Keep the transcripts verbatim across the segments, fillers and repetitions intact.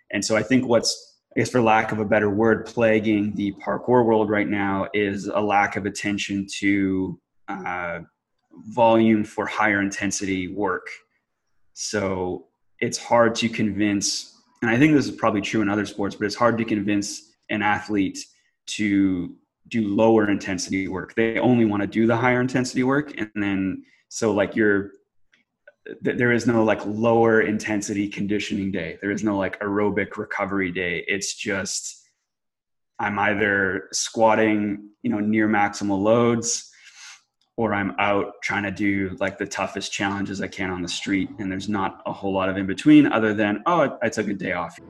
And so I think what's, I guess for lack of a better word, plaguing the parkour world right now is a lack of attention to uh, volume for higher intensity work. So it's hard to convince, and I think this is probably true in other sports, but it's hard to convince an athlete to do lower intensity work. They only want to do the higher intensity work. And then, so like you're, there is no like lower intensity conditioning day. There is no like aerobic recovery day. It's just, I'm either squatting, you know, near maximal loads, or I'm out trying to do like the toughest challenges I can on the street. And there's not a whole lot of in between other than, oh, I took a day off.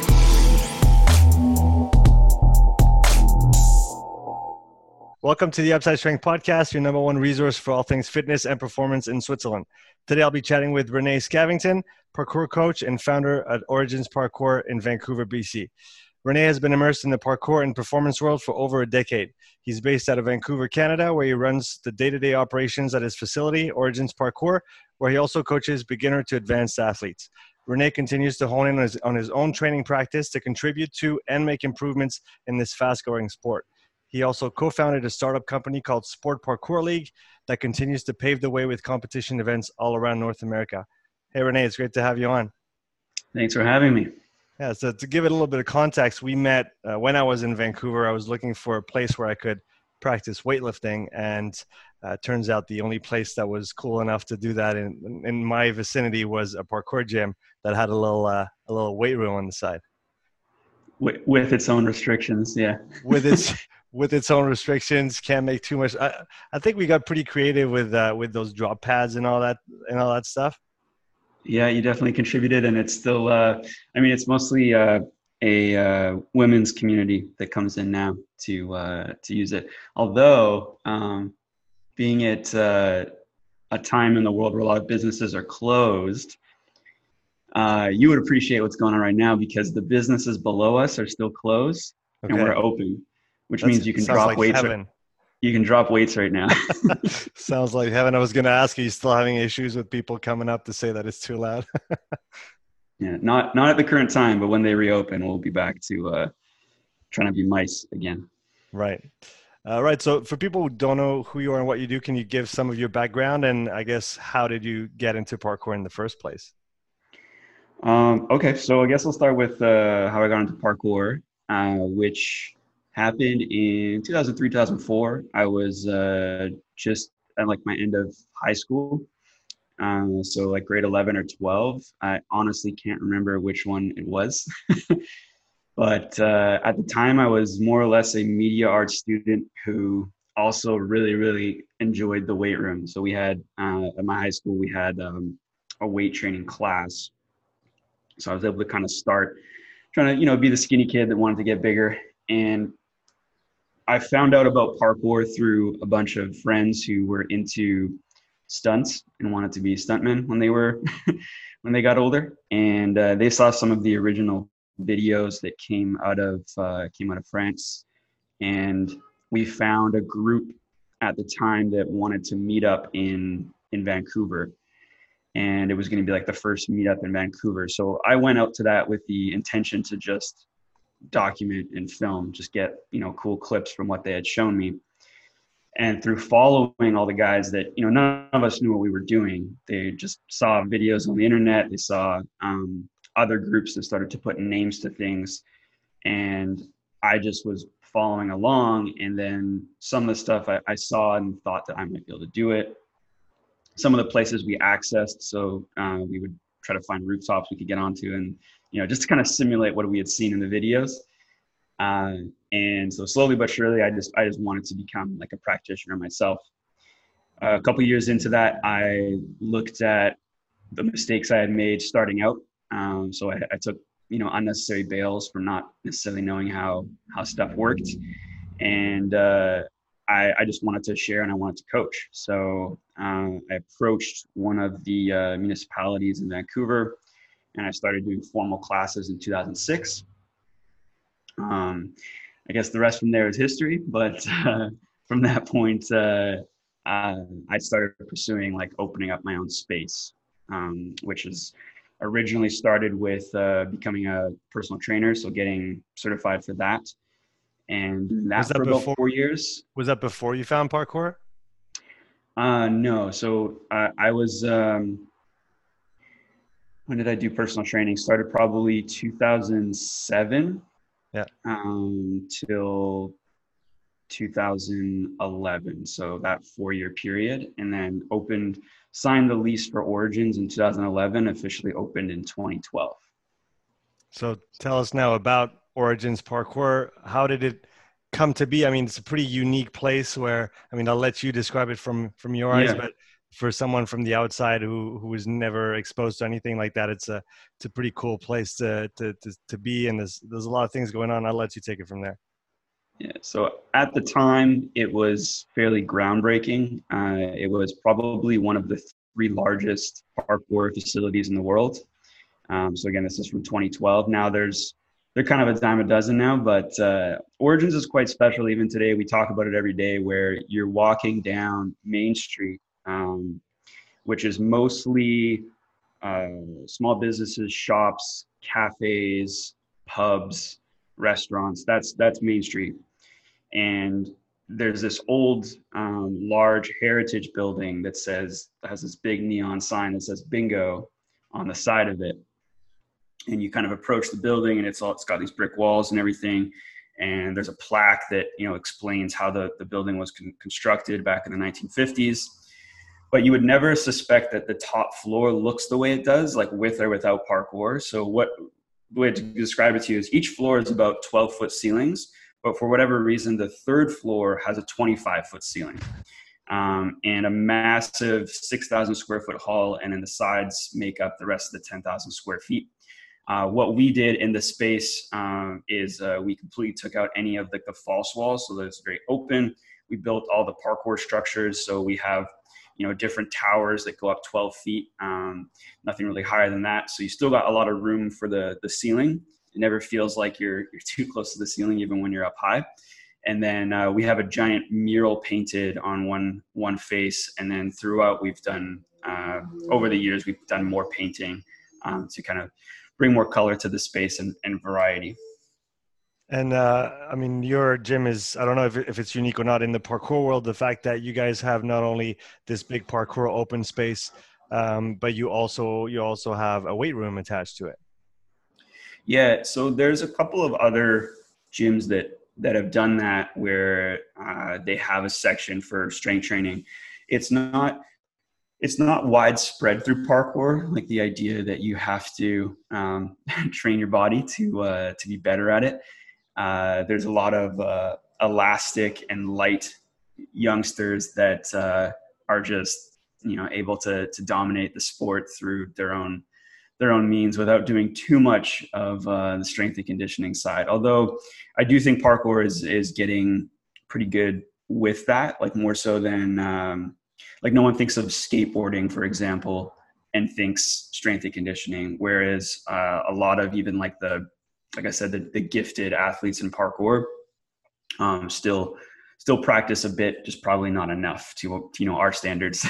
Welcome to the Upside Strength Podcast, your number one resource for all things fitness and performance in Switzerland. Today, I'll be chatting with Renee Scavington, parkour coach and founder at Origins Parkour in Vancouver, B C. Renee has been immersed in the parkour and performance world for over a decade. He's based out of Vancouver, Canada, where he runs the day-to-day operations at his facility, Origins Parkour, where he also coaches beginner to advanced athletes. Renee continues to hone in on his, on his own training practice to contribute to and make improvements in this fast-growing sport. He also co-founded a startup company called Sport Parkour League that continues to pave the way with competition events all around North America. Hey, Renee, it's great to have you on. Thanks for having me. Yeah, so to give it a little bit of context, we met uh, when I was in Vancouver. I was looking for a place where I could practice weightlifting, and uh, turns out the only place that was cool enough to do that in, in my vicinity was a parkour gym that had a little uh, a little weight room on the side. With, with its own restrictions, yeah. with its with its own restrictions, can't make too much. I, I think we got pretty creative with uh, with those drop pads and all that and all that stuff. Yeah, you definitely contributed, and it's still. Uh, I mean, it's mostly uh, a uh, women's community that comes in now to uh, to use it. Although, um, being at uh, a time in the world where a lot of businesses are closed, uh, you would appreciate what's going on right now because the businesses below us are still closed, okay, and we're open, which That's, means you can drop like weights. Heaven. You can drop weights right now. Sounds like heaven. I was going to ask you, you still having issues with people coming up to say that it's too loud? Yeah, not not at the current time, but when they reopen, we'll be back to uh, trying to be mice again. Right. Uh, right. So for people who don't know who you are and what you do, can you give some of your background? And I guess, how did you get into parkour in the first place? Um, okay, so I guess I'll start with uh, how I got into parkour, uh, which happened in two thousand three, two thousand four. I was uh, just at like my end of high school. Uh, so like grade eleven or twelve. I honestly can't remember which one it was. But uh, at the time I was more or less a media arts student who also really, really enjoyed the weight room. So we had, uh, at my high school, we had um, a weight training class. So I was able to kind of start trying to, you know, be the skinny kid that wanted to get bigger. And I found out about parkour through a bunch of friends who were into stunts and wanted to be stuntmen when they were, when they got older. And uh, they saw some of the original videos that came out of, uh, came out of France. And we found a group at the time that wanted to meet up in, in Vancouver. And it was going to be like the first meetup in Vancouver. So I went out to that with the intention to just document and film, just get, you know, cool clips from what they had shown me. And through following all the guys that, you know, none of us knew what we were doing. They just saw videos on the internet. They saw um, other groups that started to put names to things. And I just was following along. And then some of the stuff I, I saw and thought that I might be able to do it. Some of the places we accessed, so uh, we would try to find rooftops we could get onto, and you know, just to kind of simulate what we had seen in the videos. Uh, and so slowly but surely, I just I just wanted to become like a practitioner myself. Uh, a couple years into that, I looked at the mistakes I had made starting out. Um, so I, I took you know unnecessary bails from not necessarily knowing how how stuff worked, and uh, I, I just wanted to share and I wanted to coach. So uh, I approached one of the uh, municipalities in Vancouver, and I started doing formal classes in two thousand six. Um, I guess the rest from there is history, but uh, from that point, uh, uh, I started pursuing like opening up my own space, um, which is originally started with uh, becoming a personal trainer, so getting certified for that, and doing Was that that for about before? four years. Was that before you found parkour? Uh, no, so uh, I was. Um, when did I do personal training? Started probably two thousand seven Yeah. um, till two thousand eleven. So that four year period, and then opened, signed the lease for Origins in two thousand eleven, officially opened in twenty twelve. So tell us now about Origins Parkour. How did it come to be? I mean, it's a pretty unique place where, I mean, I'll let you describe it from from your eyes, Yeah. but for someone from the outside who who was never exposed to anything like that, it's a it's a pretty cool place to to to, to be. And there's there's a lot of things going on. I'll let you take it from there. Yeah. So at the time, it was fairly groundbreaking. Uh, it was probably one of the three largest parkour facilities in the world. Um, so again, this is from twenty twelve. Now there's they're kind of a dime a dozen now, but uh, Origins is quite special. Even today, we talk about it every day. Where you're walking down Main Street, um, which is mostly uh, small businesses, shops, cafes, pubs, restaurants. That's that's Main Street, and there's this old, um, large heritage building that says has this big neon sign that says "Bingo" on the side of it. And you kind of approach the building, and it's all it's got these brick walls and everything. And there's a plaque that you know explains how the, the building was con- constructed back in the nineteen fifties. But you would never suspect that the top floor looks the way it does, like with or without parkour. So what the way to describe it to you is each floor is about twelve foot ceilings, but for whatever reason, the third floor has a twenty-five foot ceiling. Um, and a massive six thousand square foot hall, and then the sides make up the rest of the ten thousand square feet. Uh, what we did in the space um, is uh, we completely took out any of the, the false walls, so that it's very open. We built all the parkour structures, so we have you know different towers that go up twelve feet, um, nothing really higher than that. So you still got a lot of room for the the ceiling. It never feels like you're you're too close to the ceiling, even when you're up high. And then uh, we have a giant mural painted on one one face, and then throughout we've done uh, over the years we've done more painting um, to kind of bring more color to the space and, and variety. And uh, I mean, your gym is, I don't know if, if it's unique or not in the parkour world, the fact that you guys have not only this big parkour open space, um, but you also you also have a weight room attached to it. Yeah, so there's a couple of other gyms that that have done that where uh, they have a section for strength training. It's not it's not widespread through parkour, like the idea that you have to um, train your body to uh, to be better at it. Uh, there's a lot of uh, elastic and light youngsters that uh, are just you know able to to dominate the sport through their own their own means without doing too much of uh, the strength and conditioning side. Although I do think parkour is is getting pretty good with that, like more so than um, like no one thinks of skateboarding, for example, and thinks strength and conditioning, whereas uh, a lot of even like the like I said, the, the gifted athletes in parkour um, still still practice a bit, just probably not enough to, to you know our standards.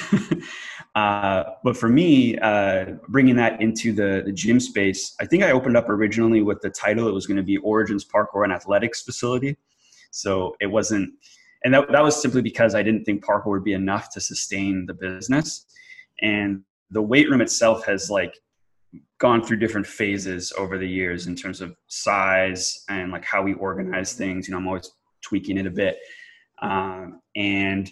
uh, but for me, uh, bringing that into the the gym space, I think I opened up originally with the title. It was going to be Origins Parkour and Athletics Facility. So it wasn't, and that that was simply because I didn't think parkour would be enough to sustain the business. And the weight room itself has like gone through different phases over the years in terms of size and like how we organize things. You know, I'm always tweaking it a bit. Um, and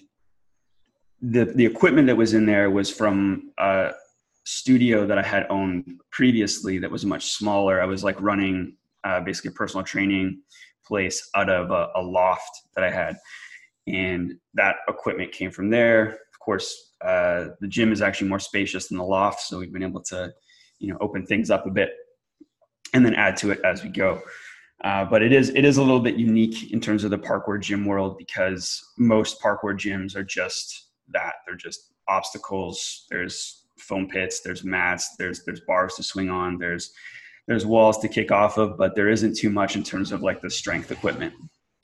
the the equipment that was in there was from a studio that I had owned previously that was much smaller. I was like running uh, basically a personal training place out of a, a loft that I had. And that equipment came from there. Of course, uh, the gym is actually more spacious than the loft. So we've been able to, you know, open things up a bit and then add to it as we go. Uh, but it is it is a little bit unique in terms of the parkour gym world because most parkour gyms are just that. They're just obstacles. There's foam pits. There's mats. There's there's bars to swing on. There's there's walls to kick off of. But there isn't too much in terms of like the strength equipment.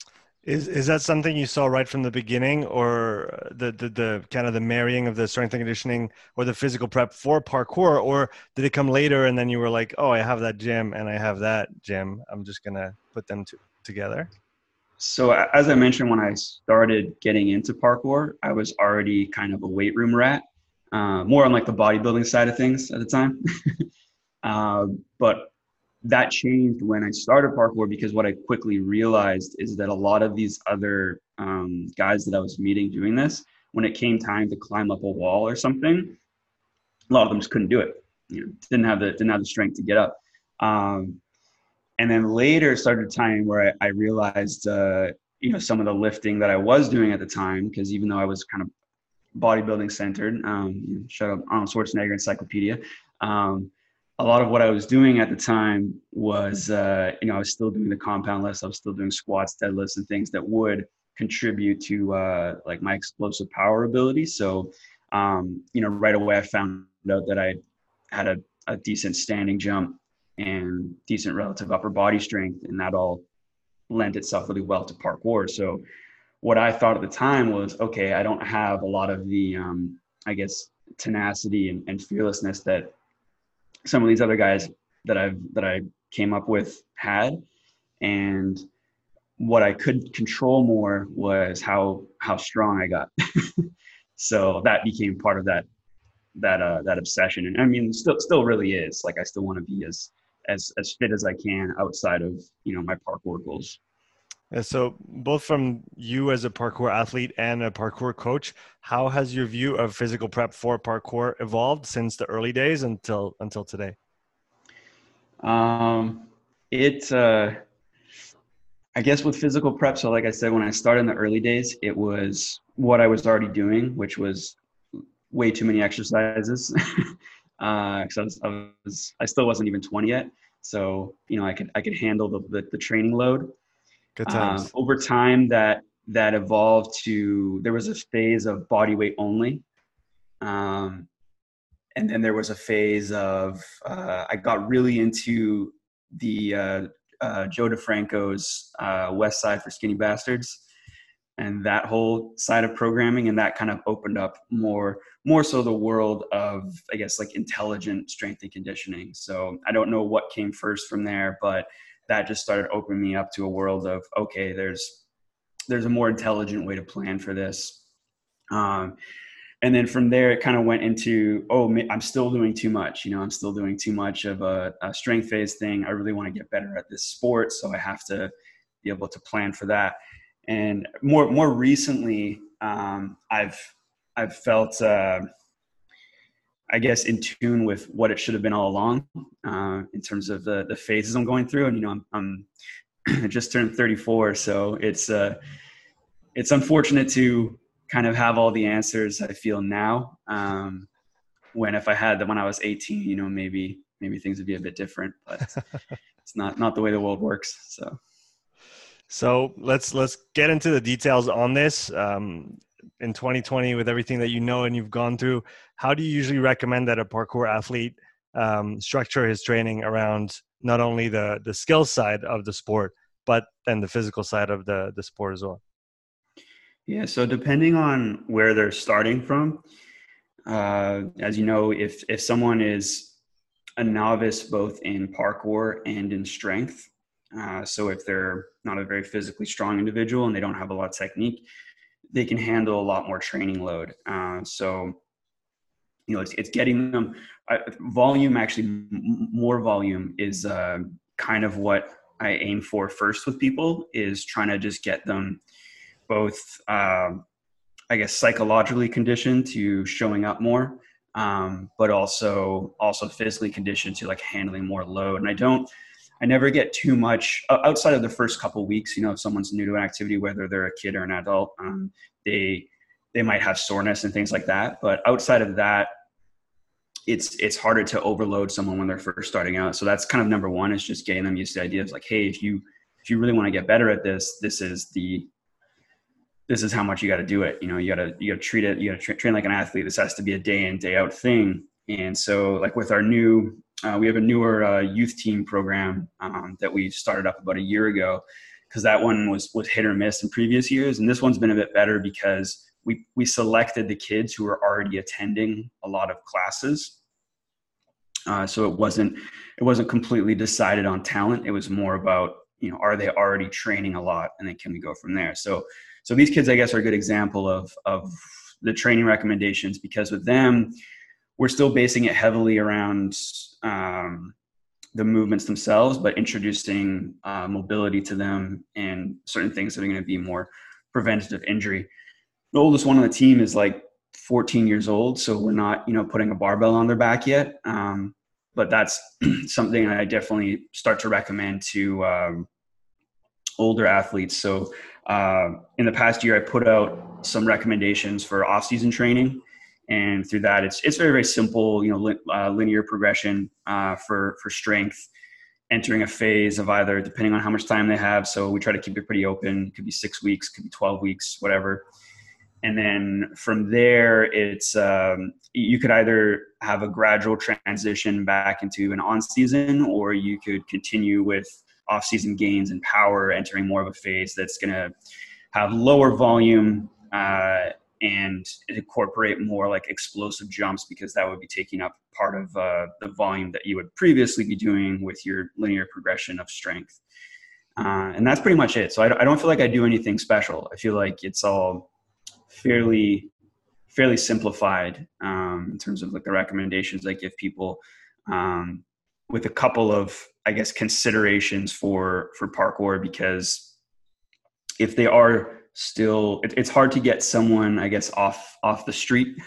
Is is that something you saw right from the beginning, or the, the the kind of the marrying of the strength and conditioning or the physical prep for parkour, or did it come later and then you were like, oh, I have that gym and I have that gym, I'm just gonna put them to, together? So as I mentioned, when I started getting into parkour, I was already kind of a weight room rat, uh, more on like the bodybuilding side of things at the time. uh, but that changed when I started parkour, because what I quickly realized is that a lot of these other um, guys that I was meeting doing this, when it came time to climb up a wall or something, a lot of them just couldn't do it. You know, didn't have the didn't have the strength to get up. Um, and then later started a time where I, I realized, uh, you know, some of the lifting that I was doing at the time, because even though I was kind of bodybuilding centered, um, shout out Arnold Schwarzenegger Encyclopedia. Um, a lot of what I was doing at the time was, uh, you know, I was still doing the compound lifts. I was still doing squats, deadlifts, and things that would contribute to uh, like my explosive power ability. So, um, you know, right away I found out that I had a, a decent standing jump and decent relative upper body strength, and that all lent itself really well to parkour. So what I thought at the time was, okay, I don't have a lot of the, um, I guess, tenacity and, and fearlessness that some of these other guys that I've, that I came up with had. And what I could control more was how, how strong I got. So that became part of that, that, uh, that obsession. And I mean, still, still really is. Like, I still want to be as, as, as fit as I can outside of, you know, my parkour goals. And so both from you as a parkour athlete and a parkour coach, how has your view of physical prep for parkour evolved since the early days until until today? Um, it, uh, I guess with physical prep, so like I said, when I started in the early days, it was what I was already doing, which was way too many exercises. uh, cause I was, I was, I still wasn't even twenty yet. So, you know, I could, I could handle the, the, the training load. Good Um, times. over time that, that evolved to, there was a phase of body weight only. Um, and then there was a phase of, uh, I got really into the, uh, uh, Joe DeFranco's, uh, West Side for Skinny Bastards, and that whole side of programming. And that kind of opened up more, more so the world of, I guess, like intelligent strength and conditioning. So I don't know what came first from there, but that just started opening me up to a world of, okay, there's, there's a more intelligent way to plan for this. Um, and then from there, it kind of went into, oh, I'm still doing too much. You know, I'm still doing too much of a, a strength phase thing. I really want to get better at this sport. So I have to be able to plan for that. And more, more recently, um, I've, I've felt, uh, I guess, in tune with what it should have been all along, uh, in terms of the, the phases I'm going through. And, you know, I'm, I'm I just turned thirty-four. So it's, uh, it's unfortunate to kind of have all the answers I feel now. Um, when, if I had them when I was eighteen, you know, maybe, maybe things would be a bit different, but it's not, not the way the world works. So. So let's let's get into the details on this. Um, in twenty twenty, with everything that you know and you've gone through, how do you usually recommend that a parkour athlete um, structure his training around not only the the skill side of the sport, but then the physical side of the the sport as well? Yeah, so depending on where they're starting from, uh, as you know, if if someone is a novice both in parkour and in strength, uh, so if they're not a very physically strong individual and they don't have a lot of technique, they can handle a lot more training load. Uh, so, you know, it's, it's getting them uh, volume. Actually, m- more volume is uh, kind of what I aim for first with people, is trying to just get them both, um, I guess, psychologically conditioned to showing up more, um, but also also physically conditioned to like handling more load. And I don't, I never get too much outside of the first couple of weeks. You know, if someone's new to an activity, whether they're a kid or an adult, um, they they might have soreness and things like that. But outside of that, it's it's harder to overload someone when they're first starting out. So that's kind of number one, is just getting them used to the idea of like, hey, if you if you really want to get better at this, this is the this is how much you got to do it. You know, you got to, you got to treat it, you got to tra- train like an athlete. This has to be a day in, day out thing. And so like with our new, uh, we have a newer uh, youth team program um, that we started up about a year ago. because that one was was hit or miss in previous years, and this one's been a bit better because we we selected the kids who were already attending a lot of classes. Uh, so it wasn't it wasn't completely decided on talent. It was more about, you know, are they already training a lot, and then can we go from there? So so these kids, I guess, are a good example of of the training recommendations, because with them, we're still basing it heavily around um, the movements themselves, but introducing uh, mobility to them and certain things that are going to be more preventative injury. The oldest one on the team is like fourteen years old, so we're not, you know, putting a barbell on their back yet. Um, but that's something I definitely start to recommend to um, older athletes. So uh, in the past year, I put out some recommendations for off-season training. And through that, it's it's very, very simple, you know, li- uh, linear progression uh, for, for strength, entering a phase of either, depending on how much time they have. So we try to keep it pretty open. It could be six weeks, could be twelve weeks, whatever. And then from there, it's um, you could either have a gradual transition back into an on-season, or you could continue with off-season gains and power, entering more of a phase that's going to have lower volume uh, and incorporate more like explosive jumps, because that would be taking up part of uh, the volume that you would previously be doing with your linear progression of strength. Uh, and that's pretty much it. So I, I don't feel like I do anything special. I feel like it's all fairly fairly simplified um, in terms of like the recommendations I give people, um, with a couple of, I guess, considerations for for parkour, because if they are still, it, it's hard to get someone, I guess, off off the street.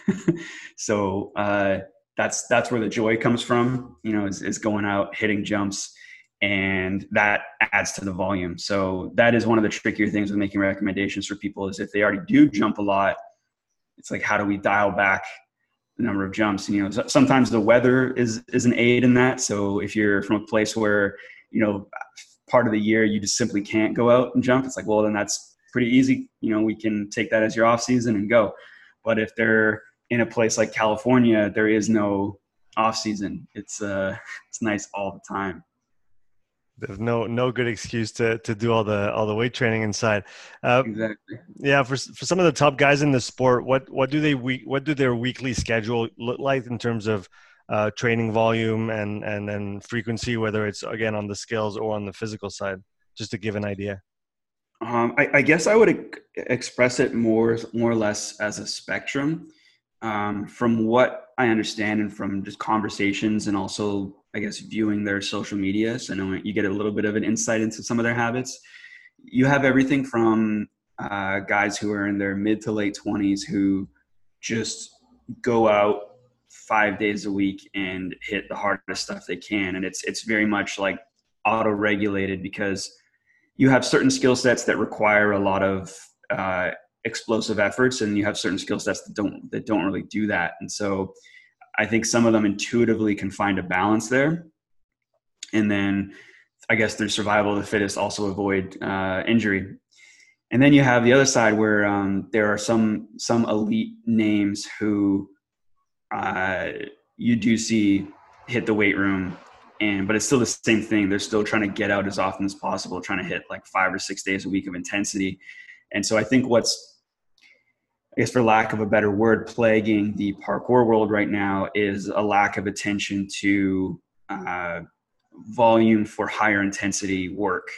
so uh, that's that's where the joy comes from, you know, is, is going out, hitting jumps, and that adds to the volume. So that is one of the trickier things with making recommendations for people, is if they already do jump a lot, it's like, how do we dial back the number of jumps? And, you know, sometimes the weather is, is an aid in that. So if you're from a place where, you know, part of the year you just simply can't go out and jump, it's like, well, then that's pretty easy. You know, we can take that as your off season and go. But if they're in a place like California, there is no off season. It's uh, it's nice all the time. There's no no good excuse to to do all the all the weight training inside. Uh, exactly. Yeah, for for some of the top guys in the sport, what what do they week what do their weekly schedule look like in terms of uh, training volume and and and frequency, whether it's again on the skills or on the physical side, just to give an idea? Um, I, I guess I would e- express it more more or less as a spectrum. Um, from what I understand, and from just conversations, and also, I guess, viewing their social media, so I know you get a little bit of an insight into some of their habits. You have everything from uh, guys who are in their mid to late twenties who just go out five days a week and hit the hardest stuff they can, and it's it's very much like auto-regulated, because you have certain skill sets that require a lot of uh, explosive efforts, and you have certain skill sets that don't that don't really do that. And so I think some of them intuitively can find a balance there. And then I guess through survival of the fittest, also avoid uh, injury. And then you have the other side where um, there are some some elite names who uh, you do see hit the weight room, and but it's still the same thing. They're still trying to get out as often as possible, trying to hit like five or six days a week of intensity. And so I think what's, I guess for lack of a better word, plaguing the parkour world right now is a lack of attention to uh, volume for higher intensity work.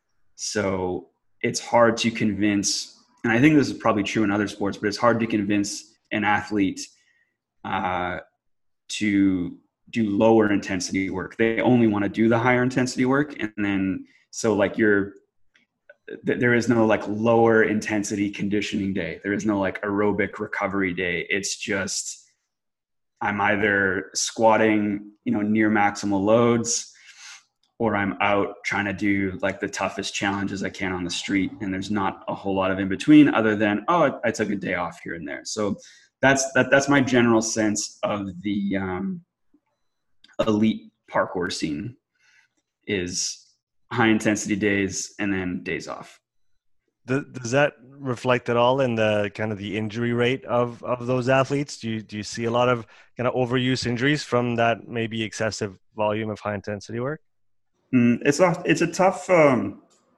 So it's hard to convince, and I think this is probably true in other sports, but it's hard to convince an athlete uh, to do lower intensity work. They only want to do the higher intensity work. And then, so like you're, there is no like lower intensity conditioning day. There is no like aerobic recovery day. It's just, I'm either squatting, you know, near maximal loads, or I'm out trying to do like the toughest challenges I can on the street. And there's not a whole lot of in between, other than, oh, I took a day off here and there. So that's, that, that's my general sense of the um, elite parkour scene, is high intensity days and then days off. Does that reflect at all in the kind of the injury rate of, of those athletes? Do you, do you see a lot of kind of overuse injuries from that maybe excessive volume of high intensity work? Mm, it's a, it's a tough, um,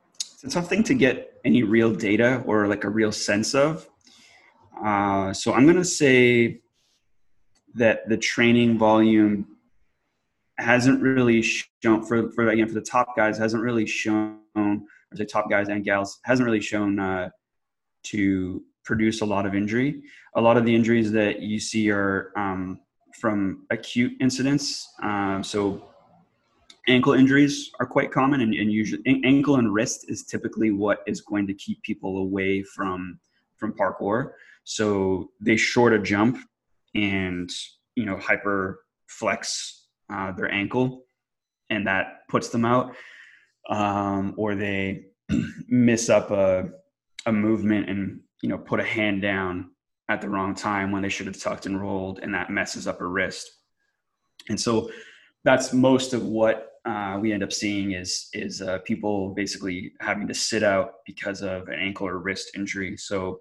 it's a tough thing to get any real data or like a real sense of. Uh, so I'm going to say that the training volume hasn't really shown for, for again, for the top guys, hasn't really shown, or the top guys and gals, hasn't really shown uh, to produce a lot of injury. A lot of the injuries that you see are um, from acute incidents. Um, so ankle injuries are quite common, and, and usually ankle and wrist is typically what is going to keep people away from from parkour. So they short a jump and, you know, hyper flex uh, their ankle, and that puts them out. Um, or they miss up a a movement and, you know, put a hand down at the wrong time when they should have tucked and rolled, and that messes up a wrist. And so that's most of what uh, we end up seeing is is uh, people basically having to sit out because of an ankle or wrist injury. So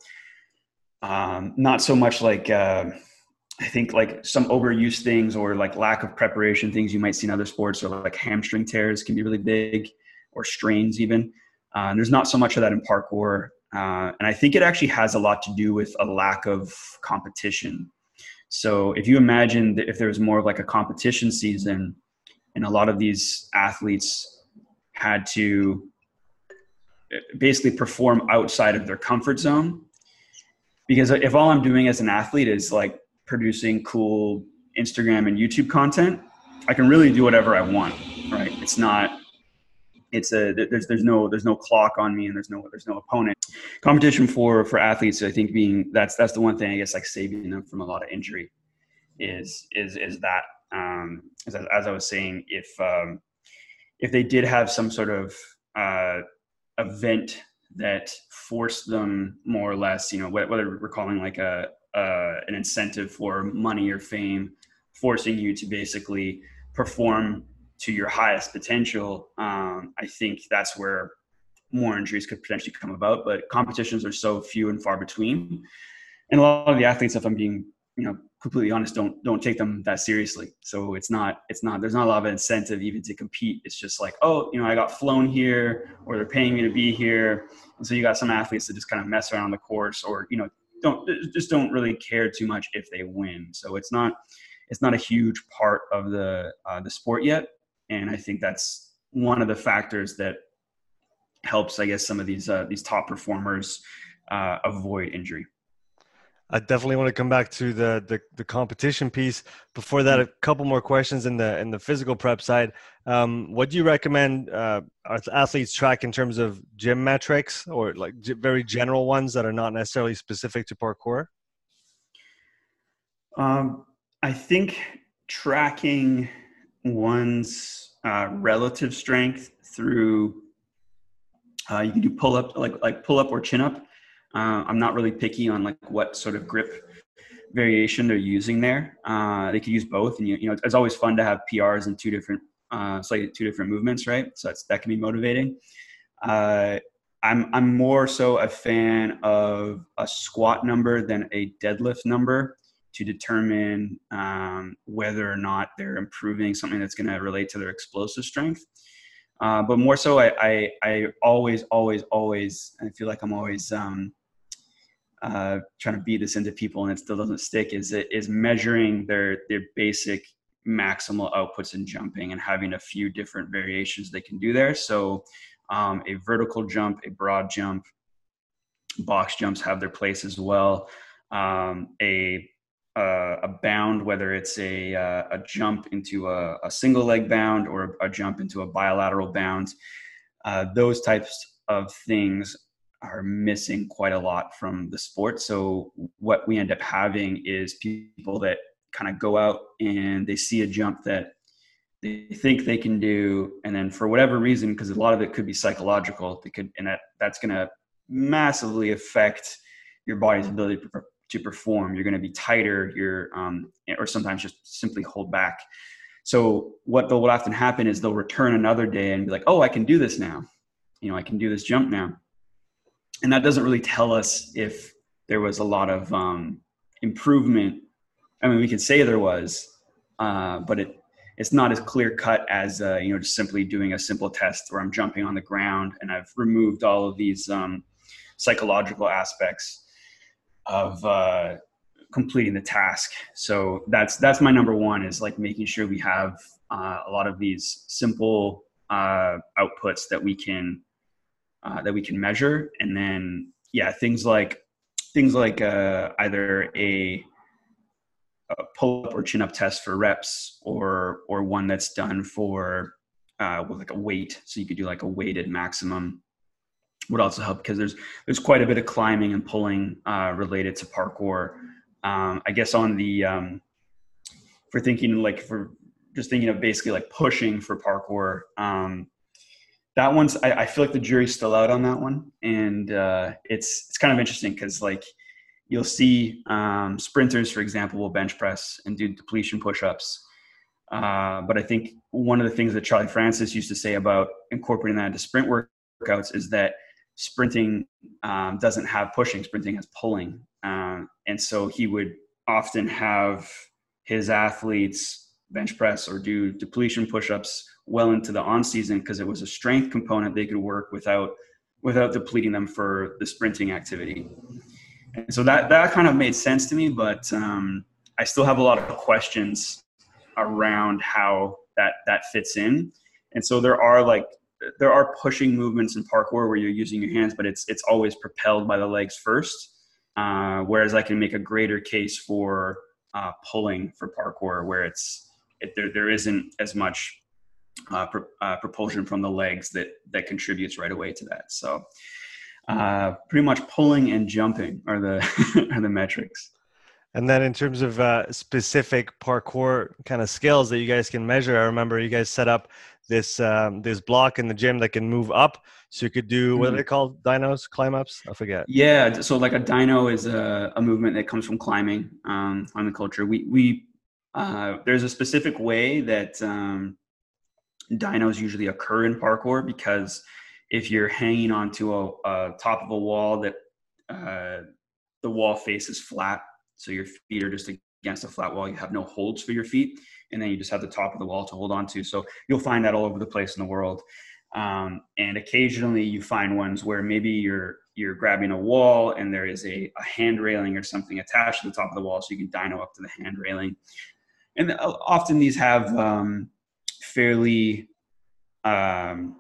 um, not so much like uh, I think like some overuse things or like lack of preparation things you might see in other sports, or like hamstring tears can be really big, or strains even. Uh, and there's not so much of that in parkour. Uh, and I think it actually has a lot to do with a lack of competition. So if you imagine that if there was more of like a competition season, and a lot of these athletes had to basically perform outside of their comfort zone, because if all I'm doing as an athlete is like producing cool Instagram and YouTube content, I can really do whatever I want, right? It's not, it's a, there's, there's no, there's no clock on me, and there's no, there's no opponent. Competition for, for athletes, I think being, that's, that's the one thing I guess, like saving them from a lot of injury is, is, is that, um, as, as I was saying, if, um, if they did have some sort of, uh, event that forced them more or less, you know, whether we're calling like a, uh, an incentive for money or fame, forcing you to basically perform to your highest potential, um, I think that's where more injuries could potentially come about. But competitions are so few and far between, and a lot of the athletes, if I'm being, you know, completely honest, don't don't take them that seriously. So it's not it's not there's not a lot of incentive even to compete. It's just like, oh, you know, I got flown here, or they're paying me to be here, and so you got some athletes that just kind of mess around on the course, or, you know, don't just don't really care too much if they win. So it's not it's not a huge part of the uh, the sport yet, and I think that's one of the factors that helps, I guess, some of these uh, these top performers uh, avoid injury. I definitely want to come back to the, the the competition piece. Before that, a couple more questions in the in the physical prep side. Um, what do you recommend uh, athletes track in terms of gym metrics, or like g- very general ones that are not necessarily specific to parkour? Um, I think tracking one's uh, relative strength through uh, you can do pull up, like like pull up or chin up. Uh, I'm not really picky on like what sort of grip variation they're using there. Uh, they could use both, and you, you know, it's always fun to have P Rs in two different, uh, slightly two different movements, right? So that's, that can be motivating. Uh, I'm I'm more so a fan of a squat number than a deadlift number to determine um, whether or not they're improving something that's going to relate to their explosive strength. Uh, but more so, I, I I always always always I feel like I'm always um, uh, trying to beat this into people, and it still doesn't stick, is it is measuring their their basic maximal outputs in jumping, and having a few different variations they can do there. So um, a vertical jump, a broad jump, box jumps have their place as well. Um, a uh, a bound, whether it's a uh, a jump into a, a single leg bound, or a jump into a bilateral bound, uh, those types of things are missing quite a lot from the sport. So what we end up having is people that kind of go out and they see a jump that they think they can do, and then for whatever reason, because a lot of it could be psychological, they could, and that that's going to massively affect your body's ability to, to perform. You're going to be tighter, you're um, or sometimes just simply hold back. So what will often happen is they'll return another day and be like, oh, I can do this now. You know, I can do this jump now. And that doesn't really tell us if there was a lot of um, improvement. I mean, we could say there was, uh, but it it's not as clear cut as, uh, you know, just simply doing a simple test where I'm jumping on the ground, and I've removed all of these um, psychological aspects of uh, completing the task. So that's, that's my number one, is like making sure we have uh, a lot of these simple uh, outputs that we can, uh, that we can measure. And then, yeah, things like, things like uh, either a, a pull-up or chin-up test for reps, or, or one that's done for uh, with like a weight. So you could do like a weighted maximum would also help, because there's, there's quite a bit of climbing and pulling uh, related to parkour. Um, I guess on the, um, for thinking like, for just thinking of basically like pushing for parkour, um, that one's, I, I feel like the jury's still out on that one. And uh, it's, it's kind of interesting, because like you'll see um, sprinters, for example, will bench press and do depletion push-ups. Uh, but I think one of the things that Charlie Francis used to say about incorporating that into sprint workouts is that sprinting um, doesn't have pushing, sprinting has pulling. Um, and so he would often have his athletes bench press or do depletion push-ups well into the on season, because it was a strength component they could work without, without depleting them for the sprinting activity. And so that, that kind of made sense to me, but um, I still have a lot of questions around how that, that fits in. And so there are like, there are pushing movements in parkour where you're using your hands, but it's, it's always propelled by the legs first. Uh, whereas I can make a greater case for uh, pulling for parkour, where it's, it, there, there isn't as much uh, pro, uh, propulsion from the legs that, that contributes right away to that. So uh, pretty much pulling and jumping are the, are the metrics. And then in terms of uh, specific parkour kind of skills that you guys can measure, I remember you guys set up this um, this block in the gym that can move up. So you could do, what are they called? Dynos, climb ups? I forget. Yeah. So like a dyno is a, a movement that comes from climbing um, on the culture. We, we uh, there's a specific way that um, dynos usually occur in parkour, because if you're hanging onto a, a top of a wall that uh, the wall face is flat, so your feet are just against a flat wall, you have no holds for your feet, and then you just have the top of the wall to hold on to. So you'll find that all over the place in the world. Um, and occasionally you find ones where maybe you're you're grabbing a wall and there is a, a hand railing or something attached to the top of the wall, so you can dyno up to the hand railing. And often these have um, fairly um,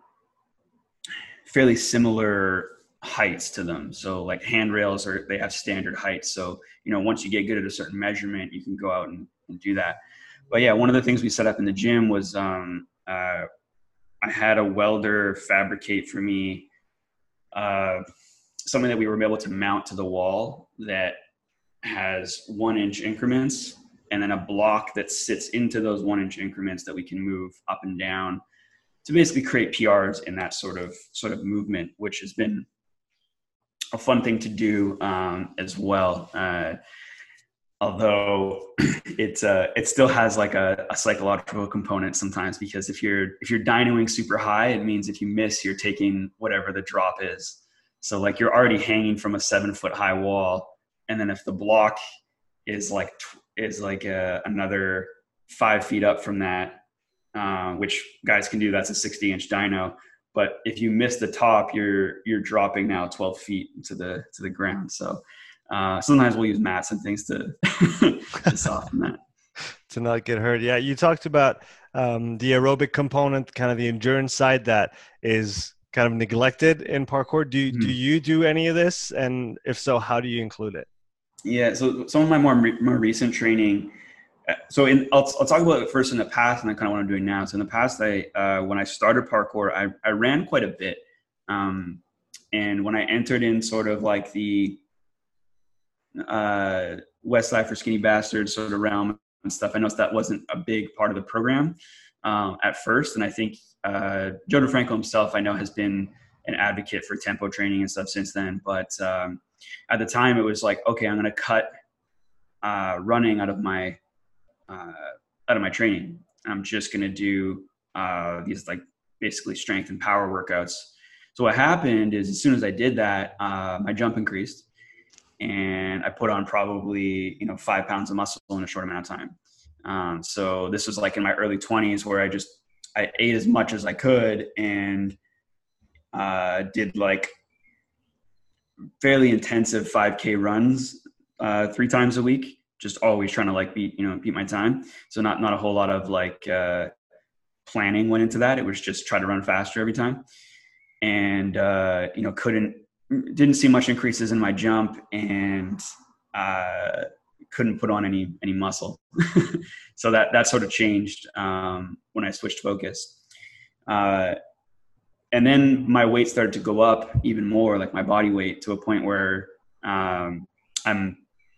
fairly similar heights to them. So like handrails are, they have standard heights. So, you know, once you get good at a certain measurement, you can go out and, and do that. But yeah, one of the things we set up in the gym was um, uh, I had a welder fabricate for me uh, something that we were able to mount to the wall that has one inch increments, and then a block that sits into those one inch increments that we can move up and down to basically create P Rs in that sort of sort of movement, which has been a fun thing to do um, as well. Uh, although it uh, it still has like a, a psychological component sometimes, because if you're if you're dynoing super high, it means if you miss, you're taking whatever the drop is. So like you're already hanging from a seven foot high wall, and then if the block is like is like a, another five feet up from that, uh, which guys can do, that's a sixty inch dyno. But if you miss the top, you're you're dropping now twelve feet to the to the ground. So uh, sometimes we'll use mats and things to, to soften that. To not get hurt. Yeah, you talked about um, the aerobic component, kind of the endurance side that is kind of neglected in parkour. Do mm-hmm. do you do any of this? And if so, how do you include it? Yeah, so some of my more more recent training. So in, I'll, I'll talk about it first in the past and then kind of what I'm doing now. So in the past, I uh, when I started parkour, I, I ran quite a bit. Um, and when I entered in sort of like the uh, Westside for Skinny Bastards sort of realm and stuff, I noticed that wasn't a big part of the program um, at first. And I think uh, Joe DeFranco himself, I know, has been an advocate for tempo training and stuff since then. But um, at the time, it was like, okay, I'm going to cut uh, running out of my Uh, out of my training. I'm just going to do uh, these like basically strength and power workouts. So what happened is as soon as I did that, uh, my jump increased and I put on probably, you know, five pounds of muscle in a short amount of time. Um, so this was like in my early twenties where I just, I ate as much as I could and uh, did like fairly intensive five K runs uh, three times a week, just always trying to like beat, you know, beat my time. So not, not a whole lot of like uh, planning went into that. It was just try to run faster every time. And, uh, you know, couldn't, didn't see much increases in my jump and uh, couldn't put on any, any muscle. So that, that sort of changed um, when I switched focus. Uh, and then my weight started to go up even more, like my body weight, to a point where um, I'm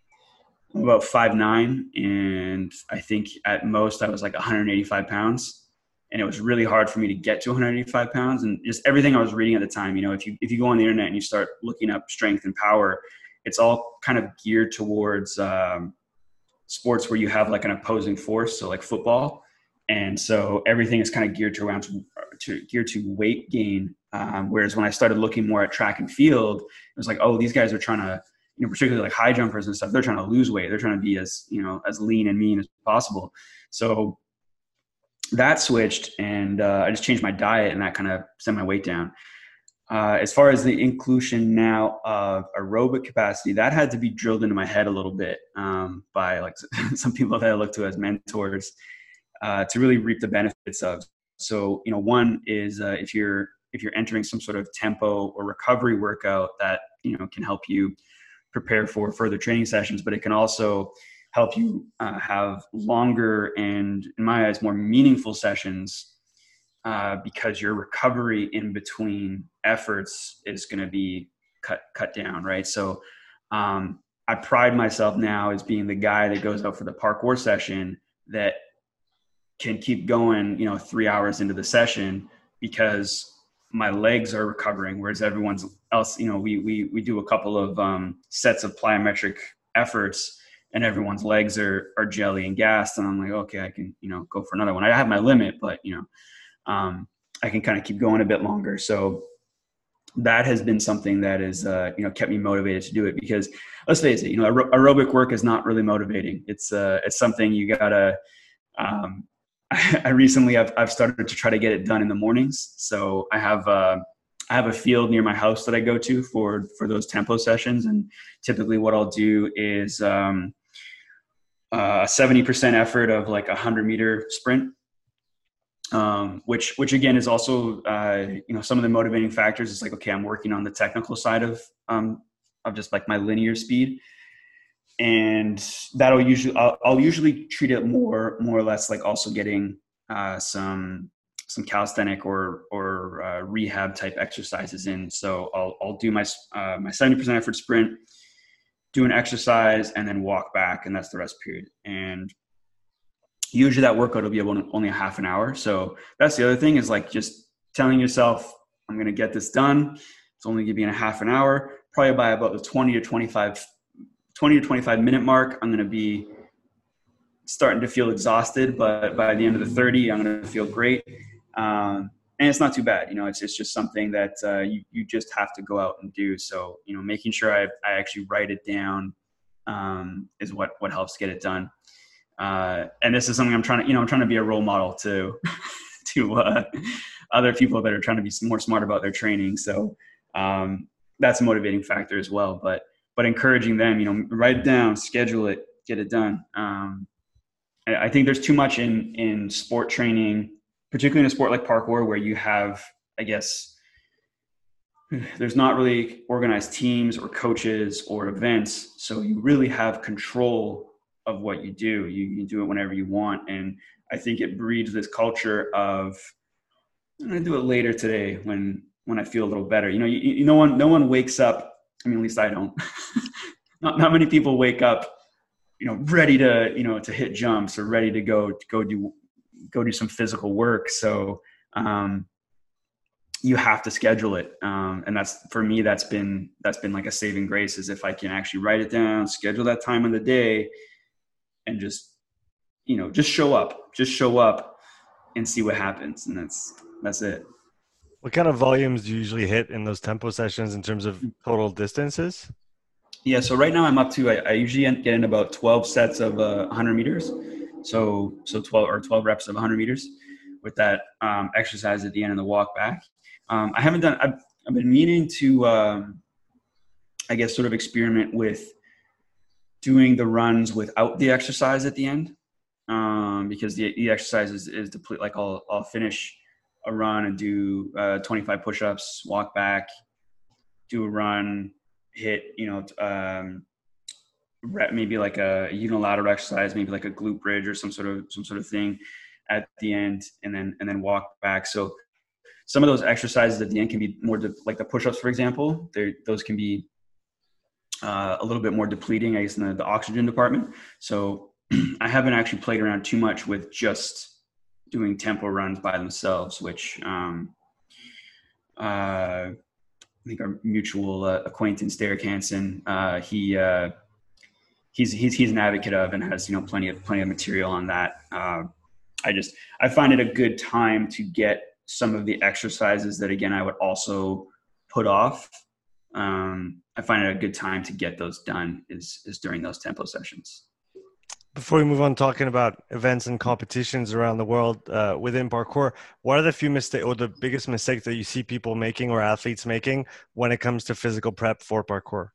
about five nine, and I think at most I was like one hundred eighty-five pounds. And it was really hard for me to get to one hundred eighty-five pounds. And just everything I was reading at the time, you know, if you, if you go on the internet and you start looking up strength and power, it's all kind of geared towards um, sports where you have like an opposing force. So like football. And so everything is kind of geared to around to, to geared to weight gain. Um, whereas when I started looking more at track and field, it was like, oh, these guys are trying to, you know, particularly like high jumpers and stuff, they're trying to lose weight. They're trying to be as, you know, as lean and mean as possible. So that switched, and uh, I just changed my diet, and that kind of sent my weight down. Uh, as far as the inclusion now of aerobic capacity, that had to be drilled into my head a little bit um, by like some people that I look to as mentors uh, to really reap the benefits of. So, you know, one is uh, if you're if you're entering some sort of tempo or recovery workout, that, you know, can help you prepare for further training sessions, but it can also help you uh, have longer and, in my eyes, more meaningful sessions uh, because your recovery in between efforts is going to be cut cut down, right? So um, I pride myself now as being the guy that goes out for the parkour session that can keep going, you know, three hours into the session because my legs are recovering, whereas everyone's else, you know, we we we do a couple of um, sets of plyometric efforts, and everyone's legs are are jelly and gassed, and I'm like, okay, I can, you know, go for another one. I have my limit, but, you know, um, I can kind of keep going a bit longer. So that has been something that is, uh, you know, kept me motivated to do it, because let's face it, you know, aer- aerobic work is not really motivating. It's uh, it's something you gotta. Um, I recently I've I've started to try to get it done in the mornings. So I have uh, I have a field near my house that I go to for for those tempo sessions, and typically what I'll do is um, a seventy percent effort of like a hundred meter sprint, um, which which again is also uh, you know, some of the motivating factors is like, okay, I'm working on the technical side of um, of just like my linear speed. And that'll usually, I'll, I'll usually treat it more, more or less like also getting uh, some, some calisthenic or, or uh, rehab type exercises in. So I'll, I'll do my, uh, my seventy percent effort sprint, do an exercise, and then walk back. And that's the rest period. And usually that workout will be only a half an hour. So that's the other thing, is like just telling yourself, I'm going to get this done. It's only going to be in a half an hour, probably by about the twenty to twenty-five twenty to twenty-five minute mark, I'm going to be starting to feel exhausted, but by the end of the thirty, I'm going to feel great. Um, and it's not too bad. You know, it's, it's just something that uh, you, you just have to go out and do. So, you know, making sure I, I actually write it down um, is what, what helps get it done. Uh, and this is something I'm trying to, you know, I'm trying to be a role model to, to uh, other people that are trying to be more smart about their training. So um, that's a motivating factor as well. But but encouraging them, you know, write it down, schedule it, get it done. Um, I think there's too much in, in sport training, particularly in a sport like parkour, where you have, I guess, there's not really organized teams or coaches or events. So you really have control of what you do. You, you do it whenever you want. And I think it breeds this culture of, I'm going to do it later today when, when I feel a little better. You know, you, you, no one, no one wakes up. I mean, at least I don't. not not many people wake up, you know, ready to, you know, to hit jumps or ready to go to go do go do some physical work. So um, you have to schedule it, um, and that's, for me, that's been that's been like a saving grace, is if I can actually write it down, schedule that time of the day, and just, you know, just show up, just show up, and see what happens, and that's that's it. What kind of volumes do you usually hit in those tempo sessions in terms of total distances? Yeah, so right now I'm up to, I, I usually get in about twelve sets of uh, one hundred meters. So, so twelve or twelve reps of one hundred meters with that um, exercise at the end of the walk back. Um, I haven't done, I've, I've been meaning to, um, I guess, sort of experiment with doing the runs without the exercise at the end. Um, because the, the exercise is, is deplete. Like I'll, I'll finish a run and do uh, twenty-five push-ups, walk back, do a run, hit, you know, um, maybe like a unilateral exercise, maybe like a glute bridge or some sort of some sort of thing at the end, and then and then walk back. So some of those exercises at the end can be more de- like the push-ups, for example. Those can be uh, a little bit more depleting, I guess, in the, the oxygen department. So I haven't actually played around too much with just doing tempo runs by themselves, which um, uh, I think our mutual uh, acquaintance Derek Hansen, uh, he. Uh, He's, he's he's an advocate of, and has, you know, plenty of plenty of material on that. Uh, I just I find it a good time to get some of the exercises that, again, I would also put off. Um, I find it a good time to get those done is is during those tempo sessions. Before we move on talking about events and competitions around the world uh, within parkour, what are the few mistakes or the biggest mistakes that you see people making or athletes making when it comes to physical prep for parkour?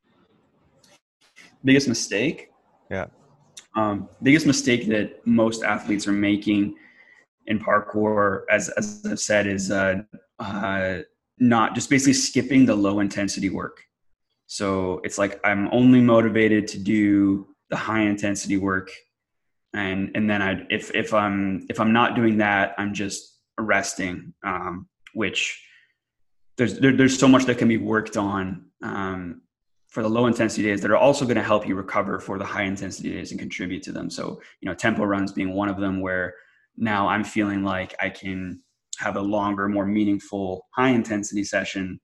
Biggest mistake? Yeah. Um, biggest mistake that most athletes are making in parkour, as, as I've said, is uh, uh, not just basically skipping the low intensity work. So it's like, I'm only motivated to do the high intensity work. And, and then I, if, if I'm, if I'm not doing that, I'm just resting, um, which there's, there, there's so much that can be worked on, um, for the low intensity days that are also going to help you recover for the high intensity days and contribute to them. So, you know, tempo runs being one of them, where now I'm feeling like I can have a longer, more meaningful high intensity session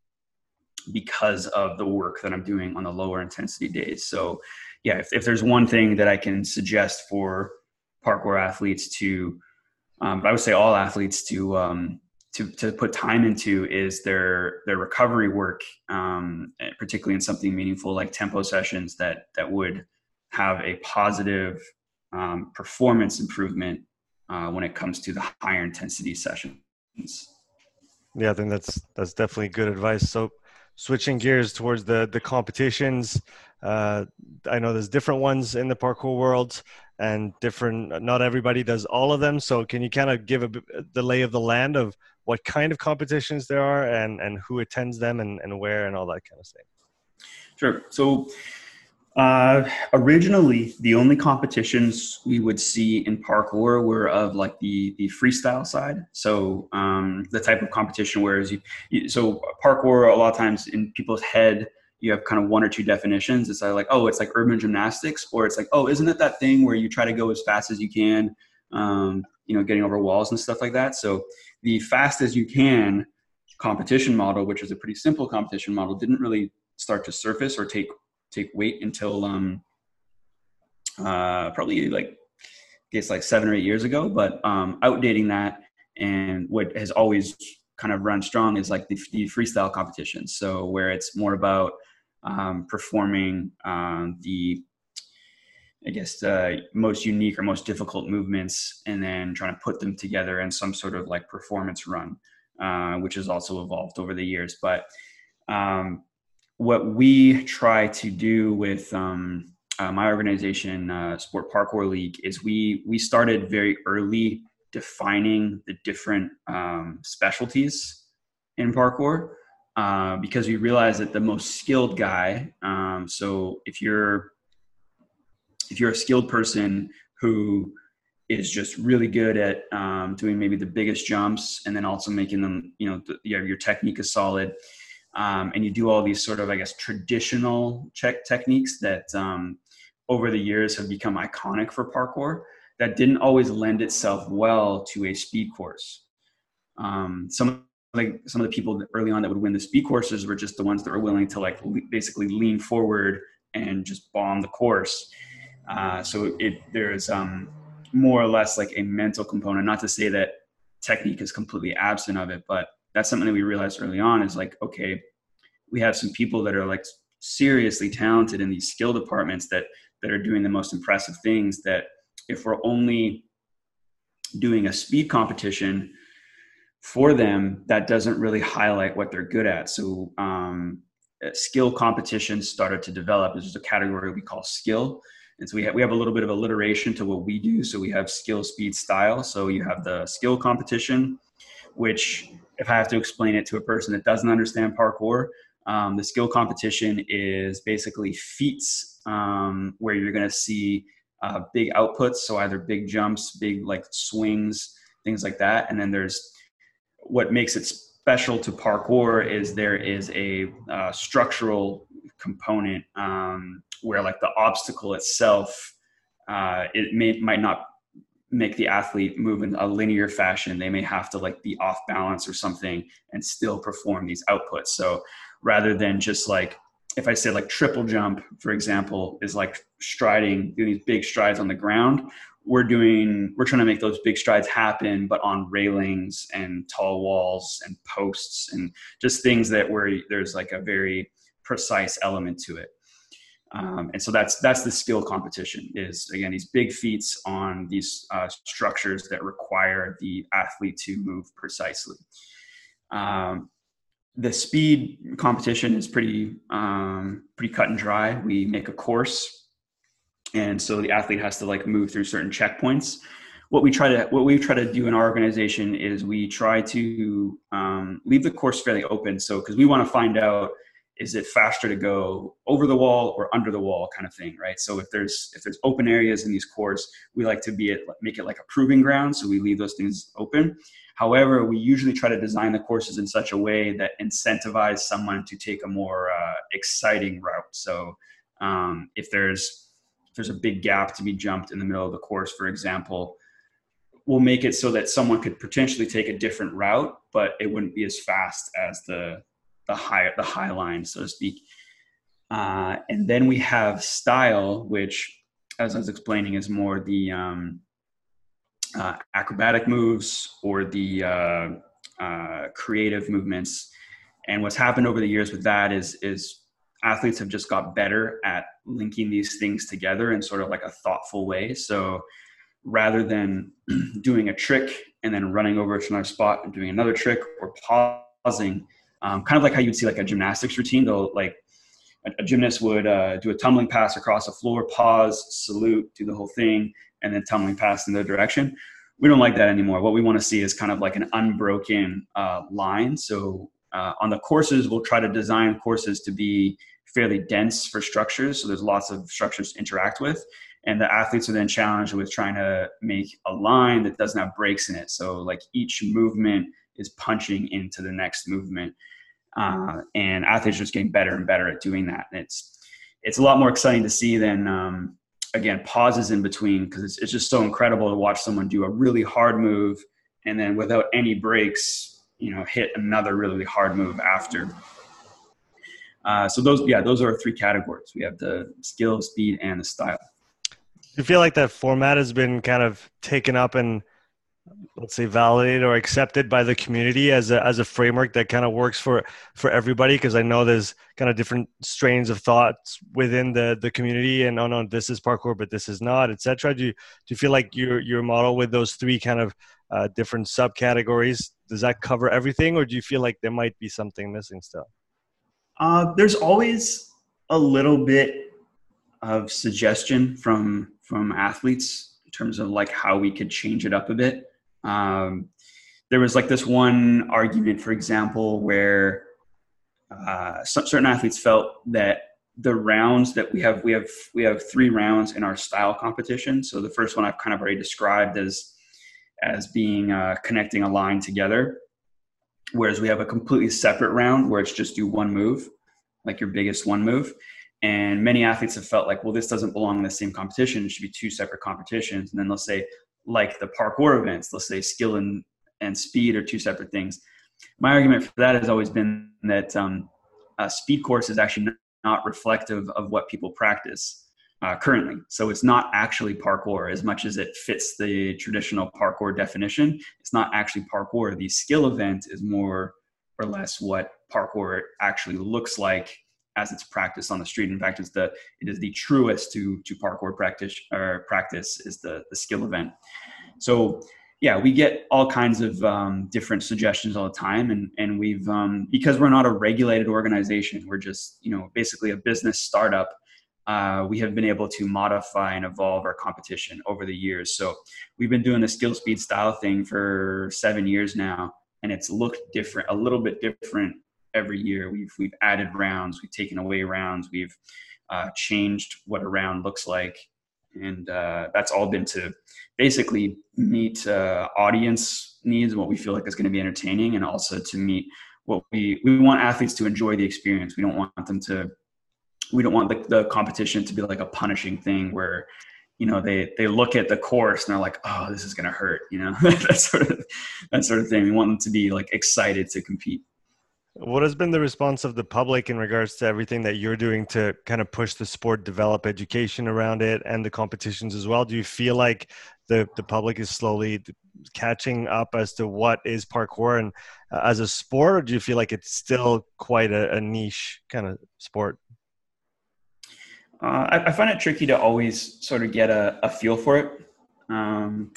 because of the work that I'm doing on the lower intensity days. So yeah, if, if there's one thing that I can suggest for parkour athletes to, um, but I would say all athletes to, um, to, to put time into is their, their recovery work, um, particularly in something meaningful like tempo sessions that, that would have a positive um, performance improvement uh, when it comes to the higher intensity sessions. Yeah, I think that's, that's definitely good advice. So switching gears towards the, the competitions, uh, I know there's different ones in the parkour world and different, not everybody does all of them. So can you kind of give a, the lay of the land of what kind of competitions there are and, and who attends them and, and where and all that kind of thing? Sure. So uh, originally, the only competitions we would see in parkour were of like the, the freestyle side. So um, the type of competition whereas you, you, so parkour, a lot of times in people's head, you have kind of one or two definitions. It's either like, oh, it's like urban gymnastics, or it's like, oh, isn't it that thing where you try to go as fast as you can, um, you know, getting over walls and stuff like that. So the fast as you can competition model, which is a pretty simple competition model, didn't really start to surface or take take weight until um, uh, probably like, I guess like seven or eight years ago. But um, outdating that, and what has always kind of run strong is like the, the freestyle competitions. So where it's more about um, performing um, the, I guess, uh, most unique or most difficult movements, and then trying to put them together in some sort of like performance run, uh, which has also evolved over the years. But um, what we try to do with um, uh, my organization, uh, Sport Parkour League, is we we started very early defining the different um, specialties in parkour, uh, because we realized that the most skilled guy, um, so if you're if you're a skilled person who is just really good at um, doing maybe the biggest jumps, and then also making them, you know, the, your, your technique is solid, um, and you do all these sort of, I guess, traditional check techniques that um, over the years have become iconic for parkour, that didn't always lend itself well to a speed course. Um, some like some of the people early on that would win the speed courses were just the ones that were willing to like le- basically lean forward and just bomb the course. Uh, so it there's um, more or less like a mental component. Not to say that technique is completely absent of it, but that's something that we realized early on is like, okay, we have some people that are like seriously talented in these skill departments that that are doing the most impressive things that if we're only doing a speed competition for them, that doesn't really highlight what they're good at. So um, skill competitions started to develop. There's just a category we call skill. And so we have, we have a little bit of alliteration to what we do. So we have skill, speed, style. So you have the skill competition, which if I have to explain it to a person that doesn't understand parkour, um, the skill competition is basically feats um, where you're going to see uh, big outputs. So either big jumps, big like swings, things like that. And then there's what makes it special to parkour is there is a uh, structural component um, where like the obstacle itself, uh, it may, might not make the athlete move in a linear fashion. They may have to like be off balance or something and still perform these outputs. So rather than just like, if I say like triple jump, for example, is like striding, doing these big strides on the ground, we're doing, we're trying to make those big strides happen, but on railings and tall walls and posts and just things that where there's like a very precise element to it. Um, and so that's, that's the skill competition is, again, these big feats on these uh, structures that require the athlete to move precisely. Um, the speed competition is pretty, um, pretty cut and dry. We make a course. And so the athlete has to like move through certain checkpoints. What we try to, what we try to do in our organization is we try to um, leave the course fairly open. So, cause we want to find out, is it faster to go over the wall or under the wall kind of thing, right? So if there's if there's open areas in these courts, we like to be at, make it like a proving ground. So we leave those things open. However, we usually try to design the courses in such a way that incentivize someone to take a more uh, exciting route. So um, if there's if there's a big gap to be jumped in the middle of the course, for example, we'll make it so that someone could potentially take a different route, but it wouldn't be as fast as the the high, the high line, so to speak. Uh, and then we have style, which, as I was explaining, is more the um, uh, acrobatic moves or the uh, uh, creative movements. And what's happened over the years with that is, is athletes have just got better at linking these things together in sort of like a thoughtful way. So rather than doing a trick and then running over to another spot and doing another trick or pausing, Um, kind of like how you'd see like a gymnastics routine, though, like a, a gymnast would uh, do a tumbling pass across the floor, pause, salute, do the whole thing, and then tumbling pass in the direction. We don't like that anymore. What we want to see is kind of like an unbroken uh, line. So uh, on the courses, we'll try to design courses to be fairly dense for structures. So there's lots of structures to interact with. And the athletes are then challenged with trying to make a line that doesn't have breaks in it. So like each movement is punching into the next movement. Uh, and athletes are just getting better and better at doing that. And it's, it's a lot more exciting to see than, um, again, pauses in between, because it's, it's just so incredible to watch someone do a really hard move and then without any breaks, you know, hit another really hard move after. Uh, so those, yeah, those are our three categories. We have the skill, speed, and the style. Do you feel like that format has been kind of taken up and, let's say, validated or accepted by the community as a as a framework that kind of works for for everybody? Because I know there's kind of different strains of thoughts within the the community, and oh no, this is parkour, but this is not, et cetera. Do you do you feel like your your model with those three kind of uh, different subcategories, does that cover everything, or do you feel like there might be something missing still? Uh, there's always a little bit of suggestion from from athletes in terms of like how we could change it up a bit. Um, there was like this one argument, for example, where uh, some, certain athletes felt that the rounds that we have, we have, we have three rounds in our style competition. So the first one I've kind of already described as, as being uh, connecting a line together, whereas we have a completely separate round where it's just do one move, like your biggest one move. And many athletes have felt like, well, this doesn't belong in the same competition. It should be two separate competitions. And then they'll say, like the parkour events, let's say skill and, and speed are two separate things. My argument for that has always been that um, a speed course is actually not reflective of what people practice uh, currently. So it's not actually parkour as much as it fits the traditional parkour definition. It's not actually parkour. The skill event is more or less what parkour actually looks like as it's practiced on the street. In fact, it's the it is the truest to to parkour practice or practice is the the skill event. So yeah, we get all kinds of um, different suggestions all the time, and and we've um, because we're not a regulated organization, we're just you know basically a business startup. Uh, we have been able to modify and evolve our competition over the years. So we've been doing the skill speed style thing for seven years now, and it's looked different, a little bit different every year. We've we've added rounds, we've taken away rounds, we've uh, changed what a round looks like, and uh, that's all been to basically meet uh, audience needs, what we feel like is going to be entertaining, and also to meet what we we want athletes to enjoy the experience. We don't want them to we don't want the, the competition to be like a punishing thing where, you know, they, they look at the course and they're like, oh, this is going to hurt, you know, that sort of, that sort of thing. We want them to be like excited to compete. What has been the response of the public in regards to everything that you're doing to kind of push the sport, develop education around it and the competitions as well? Do you feel like the, the public is slowly catching up as to what is parkour and uh, as a sport, or do you feel like it's still quite a, a niche kind of sport? Uh, I, I find it tricky to always sort of get a, a feel for it. Um,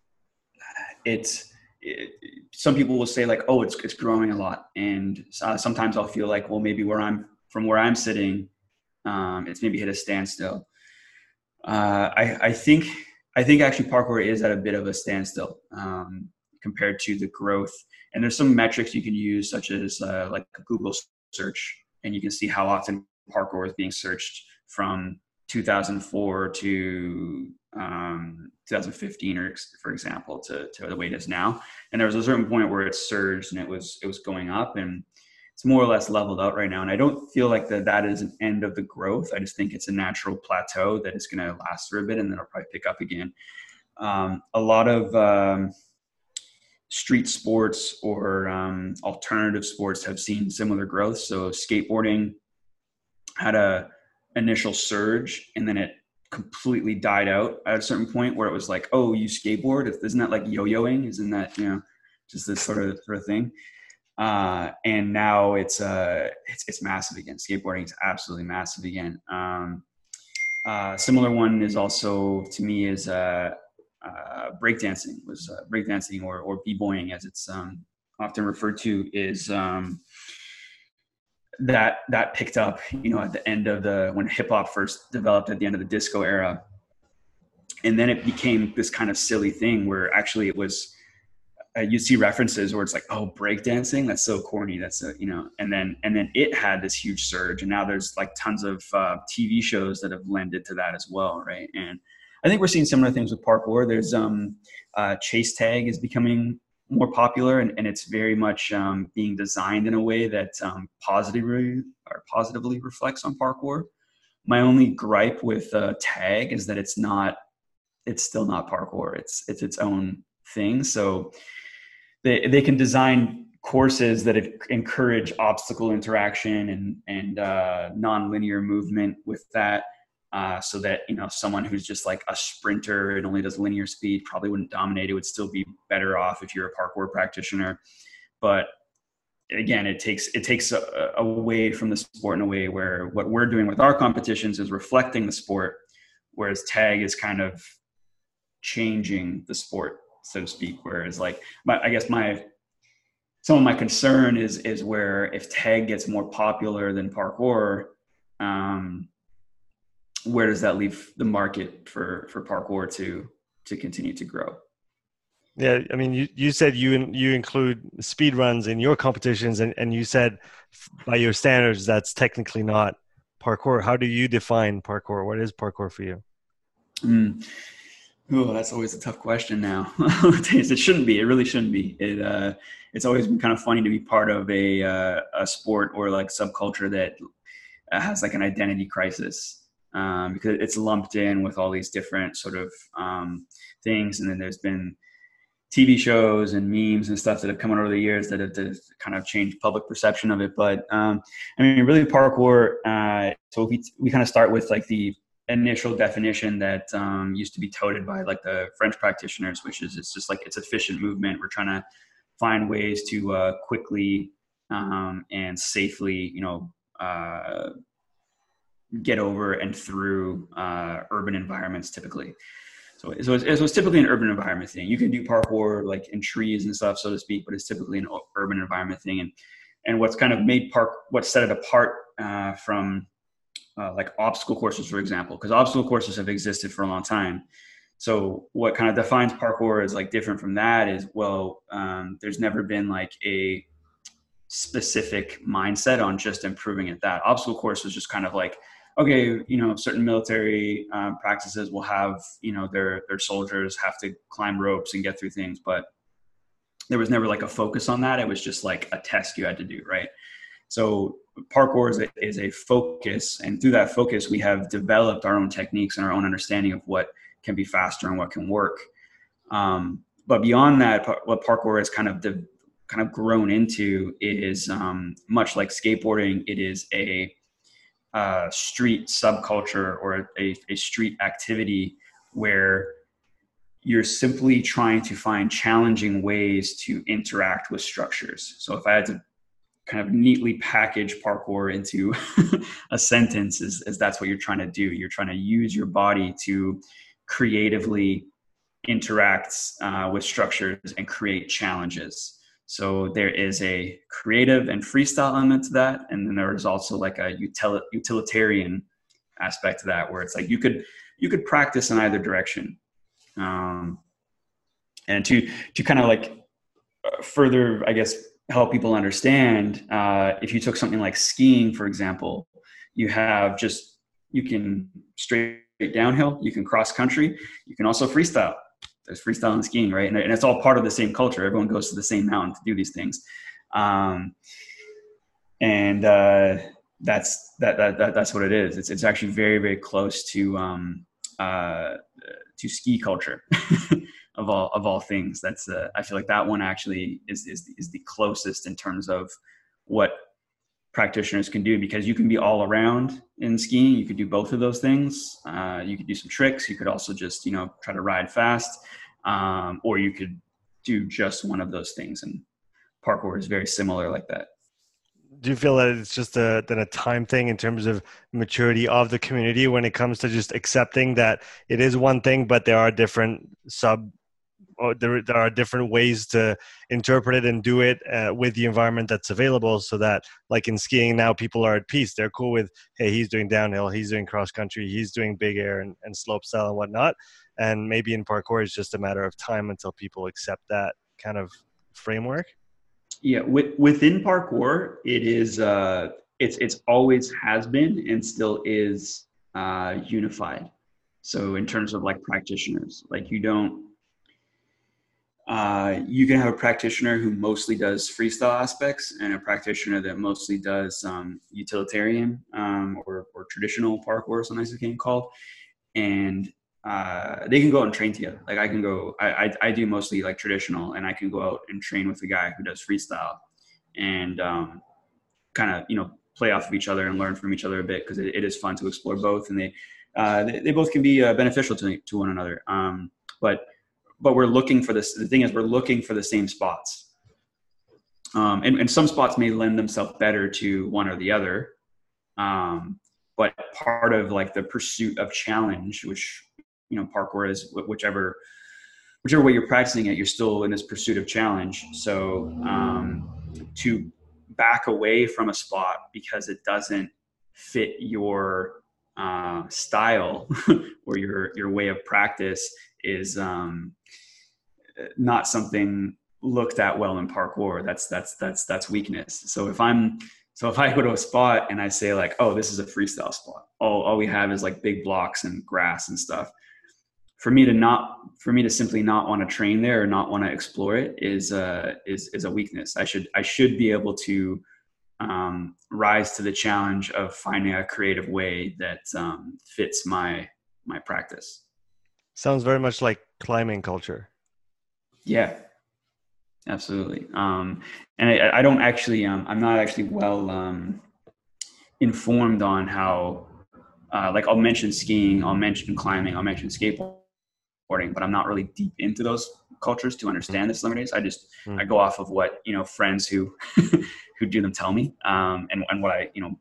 it's it, some people will say like, "Oh, it's it's growing a lot," and uh, sometimes I'll feel like, well, maybe where I'm from where I'm sitting, um, it's maybe hit a standstill. Uh, I I think I think actually parkour is at a bit of a standstill um, compared to the growth. And there's some metrics you can use, such as uh, like a Google search, and you can see how often parkour is being searched from two thousand four to um, two thousand fifteen, or for example, to, to the way it is now. And there was a certain point where it surged and it was it was going up, and it's more or less leveled out right now. And I don't feel like that that is an end of the growth. I just think it's a natural plateau that is going to last for a bit, and then it'll probably pick up again. Um, a lot of um, street sports or um, alternative sports have seen similar growth. So skateboarding had a initial surge, and then it completely died out at a certain point where it was like, oh, you skateboard? Isn't that like yo-yoing? Isn't that, you know, just this sort of sort of thing? Uh, and now it's uh, it's it's massive again. Skateboarding is absolutely massive again. Um, uh, similar one is also to me is uh, uh, breakdancing. Was uh, breakdancing or or b-boying as it's um, often referred to is. Um, that that picked up, you know, at the end of the, when hip hop first developed at the end of the disco era. And then it became this kind of silly thing where actually it was, uh, you see references where it's like, oh, breakdancing, that's so corny. That's a, you know, and then, and then it had this huge surge, and now there's like tons of uh, T V shows that have lended to that as well. Right. And I think we're seeing similar things with parkour. There's um, uh, chase tag is becoming more popular, and, and it's very much um, being designed in a way that um, positively or positively reflects on parkour. My only gripe with uh, tag is that it's not, it's still not parkour. It's it's its own thing. So they they can design courses that encourage obstacle interaction and and uh, non-linear movement with that. Uh, so that, you know, someone who's just like a sprinter and only does linear speed probably wouldn't dominate. It would still be better off if you're a parkour practitioner. But again, it takes it takes a, away from the sport in a way where what we're doing with our competitions is reflecting the sport, whereas tag is kind of changing the sport, so to speak. Whereas like, my, I guess my some of my concern is is where if tag gets more popular than parkour, um, where does that leave the market for, for parkour to, to continue to grow? Yeah. I mean, you, you said you, you include speed runs in your competitions, and, and you said by your standards, that's technically not parkour. How do you define parkour? What is parkour for you? Mm. Oh, that's always a tough question now. It shouldn't be, it really shouldn't be. It, uh, it's always been kind of funny to be part of a, uh, a sport or like subculture that has like an identity crisis. Um, because it's lumped in with all these different sort of um, things. And then there's been T V shows and memes and stuff that have come out over the years that have, that have kind of changed public perception of it. But um, I mean, really parkour, uh, so we, we kind of start with like the initial definition that um, used to be touted by like the French practitioners, which is it's just like, it's efficient movement. We're trying to find ways to uh, quickly um, and safely, you know, uh, get over and through uh, urban environments typically. So, so it's, so it's typically an urban environment thing. You can do parkour like in trees and stuff, so to speak, but it's typically an urban environment thing. And and what's kind of made park, what set it apart uh, from uh, like obstacle courses, for example, because obstacle courses have existed for a long time. So what kind of defines parkour as like different from that is, well, um, there's never been like a specific mindset on just improving at that. Obstacle course was just kind of like, okay, you know, certain military um, practices will have, you know, their their soldiers have to climb ropes and get through things, but there was never like a focus on that. It was just like a test you had to do, right? So parkour is a, is a focus, and through that focus, we have developed our own techniques and our own understanding of what can be faster and what can work. Um, but beyond that, what parkour has kind of de- kind of grown into is um, much like skateboarding. It is a uh, street subculture or a, a street activity where you're simply trying to find challenging ways to interact with structures. So if I had to kind of neatly package parkour into a sentence, is, is that's what you're trying to do. You're trying to use your body to creatively interact uh, with structures and create challenges. So there is a creative and freestyle element to that. And then there is also like a util- utilitarian aspect to that, where it's like you could, you could practice in either direction. Um, and to, to kind of like further, I guess, help people understand, uh, if you took something like skiing, for example, you have just, you can straight downhill, you can cross country, you can also freestyle. There's freestyle and skiing, right? And, and it's all part of the same culture. Everyone goes to the same mountain to do these things. Um, and uh, that's, that, that, that, that's what it is. It's, it's actually very, very close to, um, uh, to ski culture of all, of all things. That's, uh, I feel like that one actually is, is, is the closest in terms of what practitioners can do, because you can be all around in skiing. You could do both of those things. Uh, you could do some tricks. You could also just, you know, try to ride fast, um, or you could do just one of those things. And parkour is very similar like that. Do you feel that it's just a, then a time thing in terms of maturity of the community when it comes to just accepting that it is one thing, but there are different sub Or there, there are different ways to interpret it and do it uh, with the environment that's available, so that like in skiing now people are at peace. They're cool with, hey, he's doing downhill, he's doing cross country, he's doing big air and, and slope style and whatnot. And maybe in parkour, it's just a matter of time until people accept that kind of framework. Yeah. With, within parkour, it is, uh, it's, it's always has been and still is uh, unified. So in terms of like practitioners, like you don't, Uh, you can have a practitioner who mostly does freestyle aspects and a practitioner that mostly does um, utilitarian um, or, or traditional parkour, sometimes it's getting called. And uh, they can go out and train together. Like I can go, I, I, I do mostly like traditional, and I can go out and train with a guy who does freestyle and um, kind of, you know, play off of each other and learn from each other a bit, because it, it is fun to explore both. And they, uh, they, they both can be uh, beneficial to, to one another. Um, but But we're looking for this. The thing is, we're looking for the same spots. Um, and, and some spots may lend themselves better to one or the other. Um, but part of like the pursuit of challenge, which, you know, parkour is whichever, whichever way you're practicing it, you're still in this pursuit of challenge. So um, to back away from a spot because it doesn't fit your uh, style or your, your way of practice is, um, not something looked at well in parkour. That's, that's, that's, that's weakness. So if I'm, so if I go to a spot and I say like, oh, this is a freestyle spot, all, all we have is like big blocks and grass and stuff. For me to not, for me to simply not want to train there or not want to explore it is, uh, is, is a weakness. I should, I should be able to um, rise to the challenge of finding a creative way that um, fits my, my practice. Sounds very much like climbing culture. Yeah, absolutely. Um, and I, I don't actually, um, I'm not actually well um, informed on how, uh, like I'll mention skiing, I'll mention climbing, I'll mention skateboarding, but I'm not really deep into those cultures to understand the similarities. I just, mm. I go off of what, you know, friends who, who do them tell me, um, and, and what I, you know,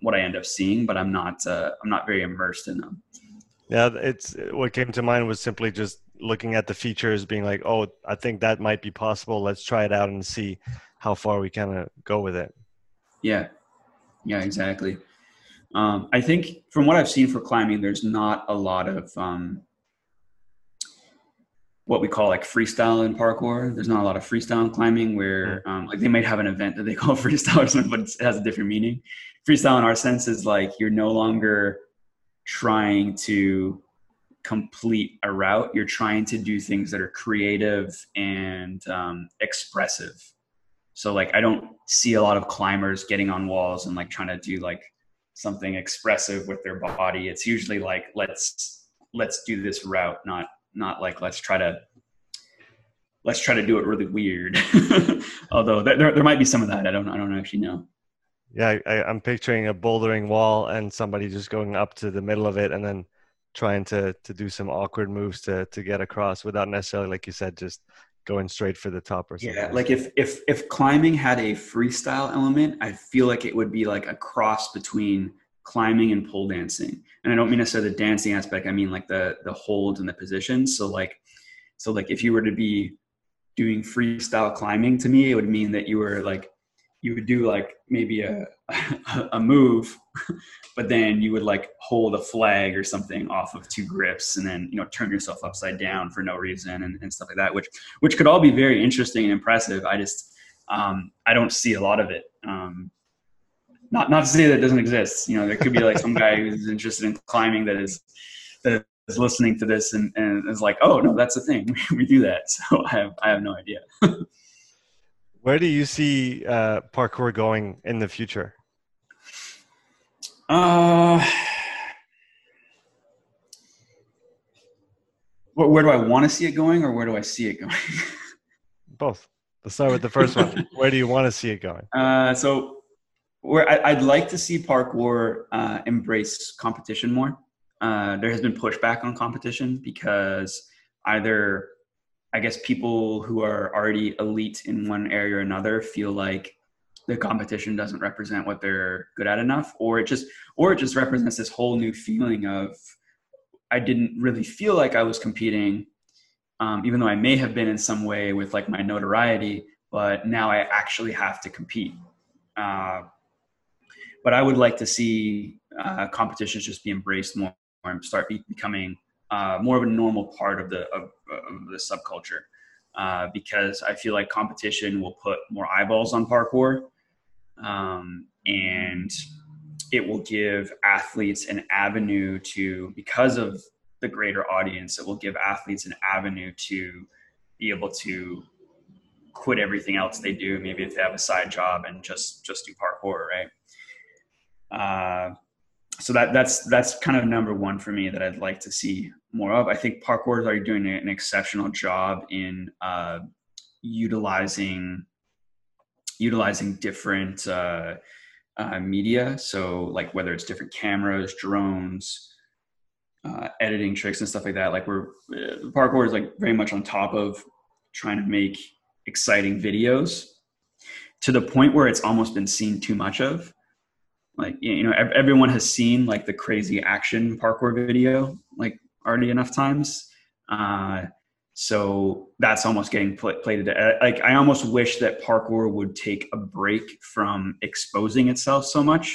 what I end up seeing, but I'm not uh, I'm not very immersed in them. Yeah, it's what came to mind was simply just looking at the features, being like, oh, I think that might be possible. Let's try it out and see how far we kind of go with it. Yeah, yeah, exactly. Um, I think from what I've seen for climbing, there's not a lot of um, what we call like freestyle in parkour. There's not a lot of freestyle in climbing where um, like they might have an event that they call freestyle or something, but it has a different meaning. Freestyle in our sense is like you're no longer trying to complete a route. You're trying to do things that are creative and um, expressive. So like I don't see a lot of climbers getting on walls and like trying to do like something expressive with their body. It's usually like let's let's do this route, not not like let's try to let's try to do it really weird. Although there there might be some of that. I don't I don't actually know. Yeah, I, I'm picturing a bouldering wall and somebody just going up to the middle of it and then trying to to do some awkward moves to to get across without necessarily, like you said, just going straight for the top or something. Yeah, like if if if climbing had a freestyle element, I feel like it would be like a cross between climbing and pole dancing. And I don't mean necessarily the dancing aspect. I mean like the the holds and the positions. So like so like if you were to be doing freestyle climbing, to me, it would mean that you were like you would do like maybe a a move, but then you would like hold a flag or something off of two grips and then, you know, turn yourself upside down for no reason and, and stuff like that, which, which could all be very interesting and impressive. I just, um, I don't see a lot of it. Um, not, not to say that it doesn't exist. You know, there could be like some guy who's interested in climbing that is, that is listening to this and, and is like, oh no, that's the thing. We do that. So I have, I have no idea. Where do you see uh, parkour going in the future? Uh, where, where do I want to see it going, or where do I see it going? Both. Let's start with the first one. Where do you want to see it going? Uh, so, where I, I'd like to see parkour uh, embrace competition more. Uh, there has been pushback on competition because either, I guess, people who are already elite in one area or another feel like the competition doesn't represent what they're good at enough, or it just, or it just represents this whole new feeling of, I didn't really feel like I was competing, um, even though I may have been in some way with like my notoriety, but now I actually have to compete. Uh, but I would like to see uh, competitions just be embraced more and start be, becoming uh, more of a normal part of the of, of the subculture, uh, because I feel like competition will put more eyeballs on parkour, um, and it will give athletes an avenue to, because of the greater audience, it will give athletes an avenue to be able to quit everything else they do. Maybe if they have a side job and just, just do parkour, right? Uh, so that that's, that's kind of number one for me that I'd like to see more of. I think parkour is already doing an exceptional job in uh, utilizing, utilizing different uh, uh, media. So like whether it's different cameras, drones, uh, editing tricks and stuff like that. Like we're, uh, parkour is like very much on top of trying to make exciting videos to the point where it's almost been seen too much of. Like, you know, everyone has seen like the crazy action parkour video, like already enough times. Uh, so that's almost getting pl- played. Like, I almost wish that parkour would take a break from exposing itself so much.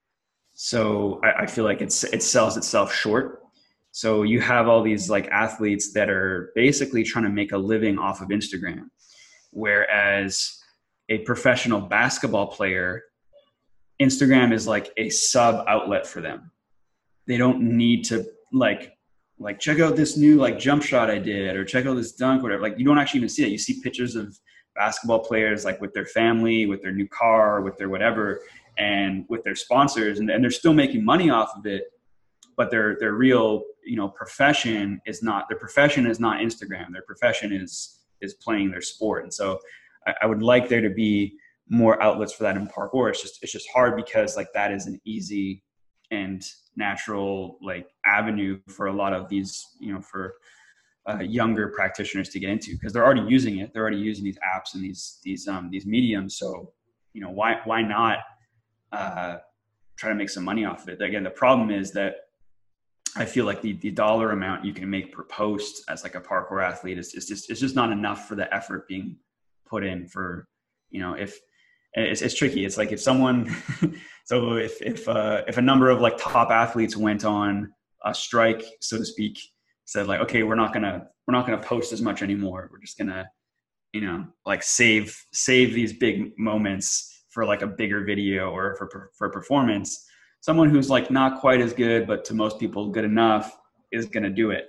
So I, I feel like it's, it sells itself short. So you have all these like athletes that are basically trying to make a living off of Instagram, whereas a professional basketball player, Instagram is like a sub outlet for them. They don't need to like, like check out this new like jump shot I did, or check out this dunk, whatever. Like you don't actually even see it. You see pictures of basketball players like with their family, with their new car, with their whatever, and with their sponsors, and, and they're still making money off of it. But their their real, you know, profession is not, their profession is not Instagram. Their profession is is playing their sport. And so I, I would like there to be more outlets for that in parkour. It's just, it's just hard because like that is an easy and natural like avenue for a lot of these, you know, for uh, younger practitioners to get into, because they're already using it. They're already using these apps and these, these, um, these mediums. So, you know, why, why not, uh, try to make some money off of it. Again, the problem is that I feel like the, the dollar amount you can make per post as like a parkour athlete is, is just, it's just not enough for the effort being put in for, you know, if it's, it's tricky. It's like if someone, so if, if, uh, if a number of like top athletes went on a strike, so to speak, said like, okay, we're not gonna, we're not gonna post as much anymore. We're just gonna, you know, like save, save these big moments for like a bigger video or for, for performance. Someone who's like not quite as good, but to most people good enough is going to do it.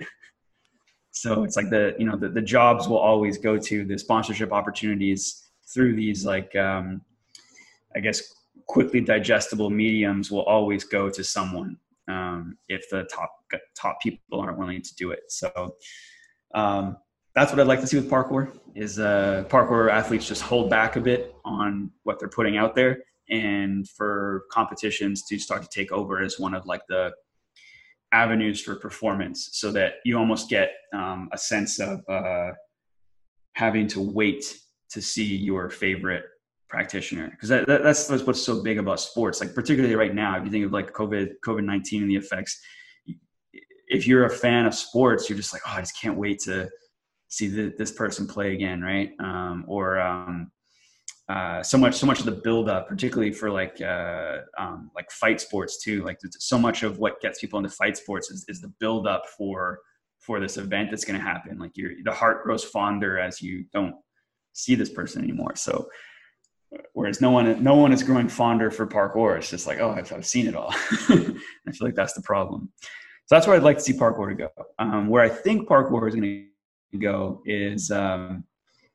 So it's like the, you know, the, the jobs will always go to the sponsorship opportunities through these like, um, I guess, quickly digestible mediums will always go to someone um, if the top, top people aren't willing to do it. So um, that's what I'd like to see with parkour is uh, parkour athletes just hold back a bit on what they're putting out there, and for competitions to start to take over as one of like the avenues for performance, so that you almost get um, a sense of uh, having to wait to see your favorite practitioner. Because that, that, that's, that's what's so big about sports. Like particularly right now, if you think of like COVID, COVID nineteen and the effects, if you're a fan of sports, you're just like, oh, I just can't wait to see the, this person play again. Right. Um, or, um, Uh, so much, so much of the buildup, particularly for like, uh, um, like fight sports too. Like so much of what gets people into fight sports is, is the buildup for, for this event that's going to happen. Like your, the heart grows fonder as you don't see this person anymore. So, whereas no one, no one is growing fonder for parkour. It's just like, oh, I've, I've seen it all. I feel like that's the problem. So that's where I'd like to see parkour to go. Um, where I think parkour is going to go is, um,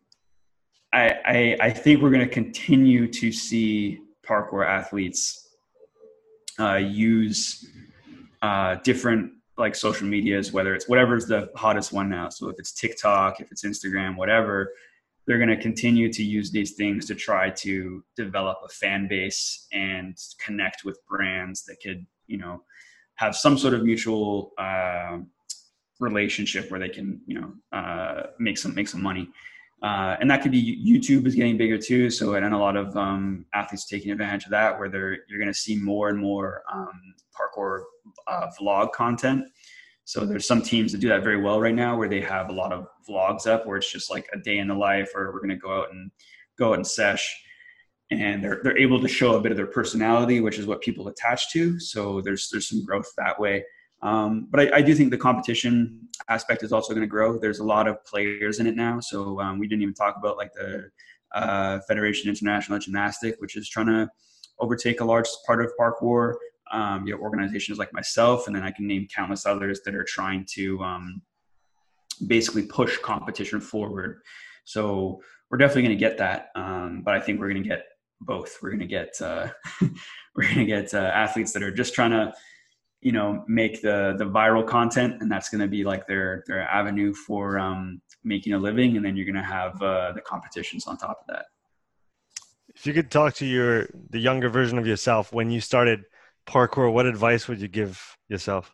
I, I, I think we're going to continue to see parkour athletes uh, use uh, different like social medias, whether it's whatever's the hottest one now. So if it's TikTok, if it's Instagram, whatever, they're going to continue to use these things to try to develop a fan base and connect with brands that could, you know, have some sort of mutual uh, relationship where they can, you know, uh, make some make some money. Uh, and that could be YouTube is getting bigger too. So, and a lot of um, athletes taking advantage of that, where they're, you're going to see more and more um, parkour uh, vlog content. So there's some teams that do that very well right now, where they have a lot of vlogs up where it's just like a day in the life, or we're going to go out and go out and sesh. And they're, they're able to show a bit of their personality, which is what people attach to. So there's, there's some growth that way. Um, but I, I do think the competition aspect is also going to grow. There's a lot of players in it now. So um, we didn't even talk about like the uh, Federation International of Gymnastics, which is trying to overtake a large part of parkour. Um, you have organizations like myself, and then I can name countless others that are trying to um, basically push competition forward. So we're definitely going to get that. Um, but I think we're going to get both. We're going to get, uh, we're going to get uh, athletes that are just trying to, you know, make the, the viral content, and that's going to be like their, their avenue for um, making a living. And then you're going to have uh, the competitions on top of that. If you could talk to your, the younger version of yourself, when you started parkour, what advice would you give yourself?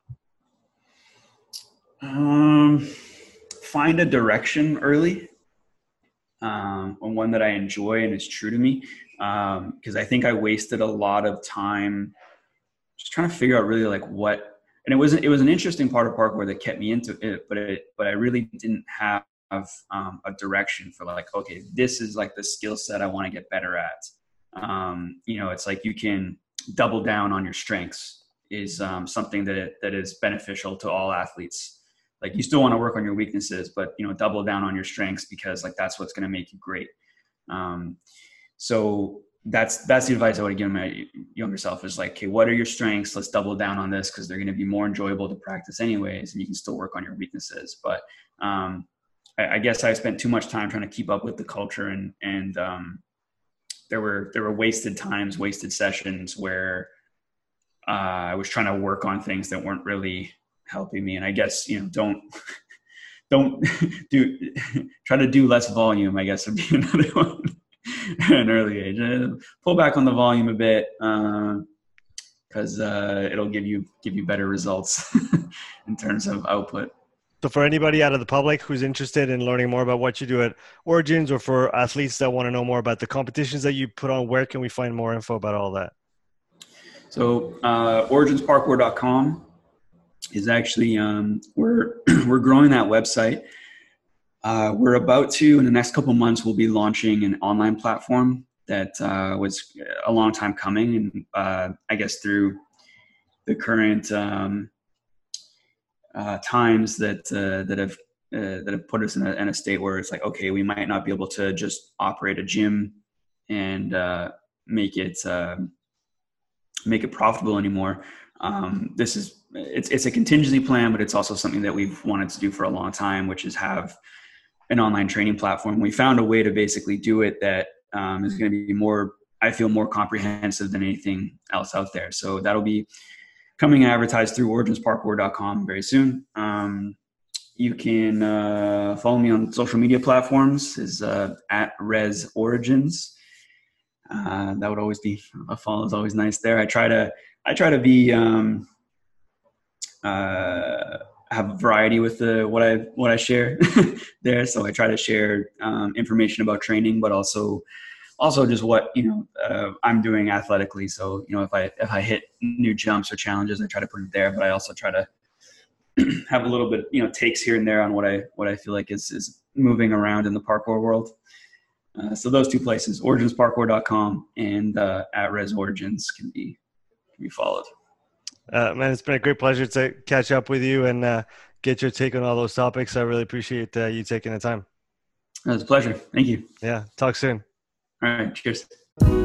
Um, find a direction early, um, and one that I enjoy and is true to me. Um, cause I think I wasted a lot of time just trying to figure out really like what, and it wasn't, it was an interesting part of parkour that kept me into it, but it, but I really didn't have um, a direction for like, okay, this is like the skill set I want to get better at. Um, you know, it's like you can double down on your strengths is um, something that, that is beneficial to all athletes. Like you still want to work on your weaknesses, but you know, double down on your strengths, because like, that's what's going to make you great. Um, so that's, that's the advice I would give my younger self is like, okay, what are your strengths? Let's double down on this, because they're going to be more enjoyable to practice anyways. And you can still work on your weaknesses. But um, I, I guess I spent too much time trying to keep up with the culture, and, and um, there were, there were wasted times, wasted sessions where uh, I was trying to work on things that weren't really helping me. And I guess, you know, don't, don't do, try to do less volume, I guess would be another one. At an early age, uh, pull back on the volume a bit, because uh, uh, it'll give you give you better results in terms of output. So for anybody out of the public who's interested in learning more about what you do at Origins, or for athletes that want to know more about the competitions that you put on, where can we find more info about all that? So uh, origins parkour dot com is actually, um, we're, we're growing that website. Uh, we're about to, in the next couple months, we'll be launching an online platform that uh, was a long time coming. And uh, I guess through the current um, uh, times that uh, that have uh, that have put us in a, in a state where it's like, okay, we might not be able to just operate a gym and uh, make it uh, make it profitable anymore. Um, this is it's it's a contingency plan, but it's also something that we've wanted to do for a long time, which is have an online training platform. We found a way to basically do it that um, is going to be more, I feel, more comprehensive than anything else out there. So that'll be coming advertised through origins parkour dot com very soon. Um, you can uh, follow me on social media platforms is uh, at Res Origins. Uh, that would always be a follow is always nice there. I try to I try to be um, uh, have a variety with the what I what I share there. So I try to share um, information about training, but also also just what you know uh, I'm doing athletically. So you know if I if I hit new jumps or challenges, I try to put it there. But I also try to have a little bit you know takes here and there on what I what I feel like is is moving around in the parkour world. Uh, so those two places, origins parkour dot com and uh, at Res Origins, can be can be followed. Uh, man, it's been a great pleasure to catch up with you and uh, get your take on all those topics. I really appreciate uh, you taking the time. It was a pleasure. Thank you. Yeah. Talk soon. All right. Cheers.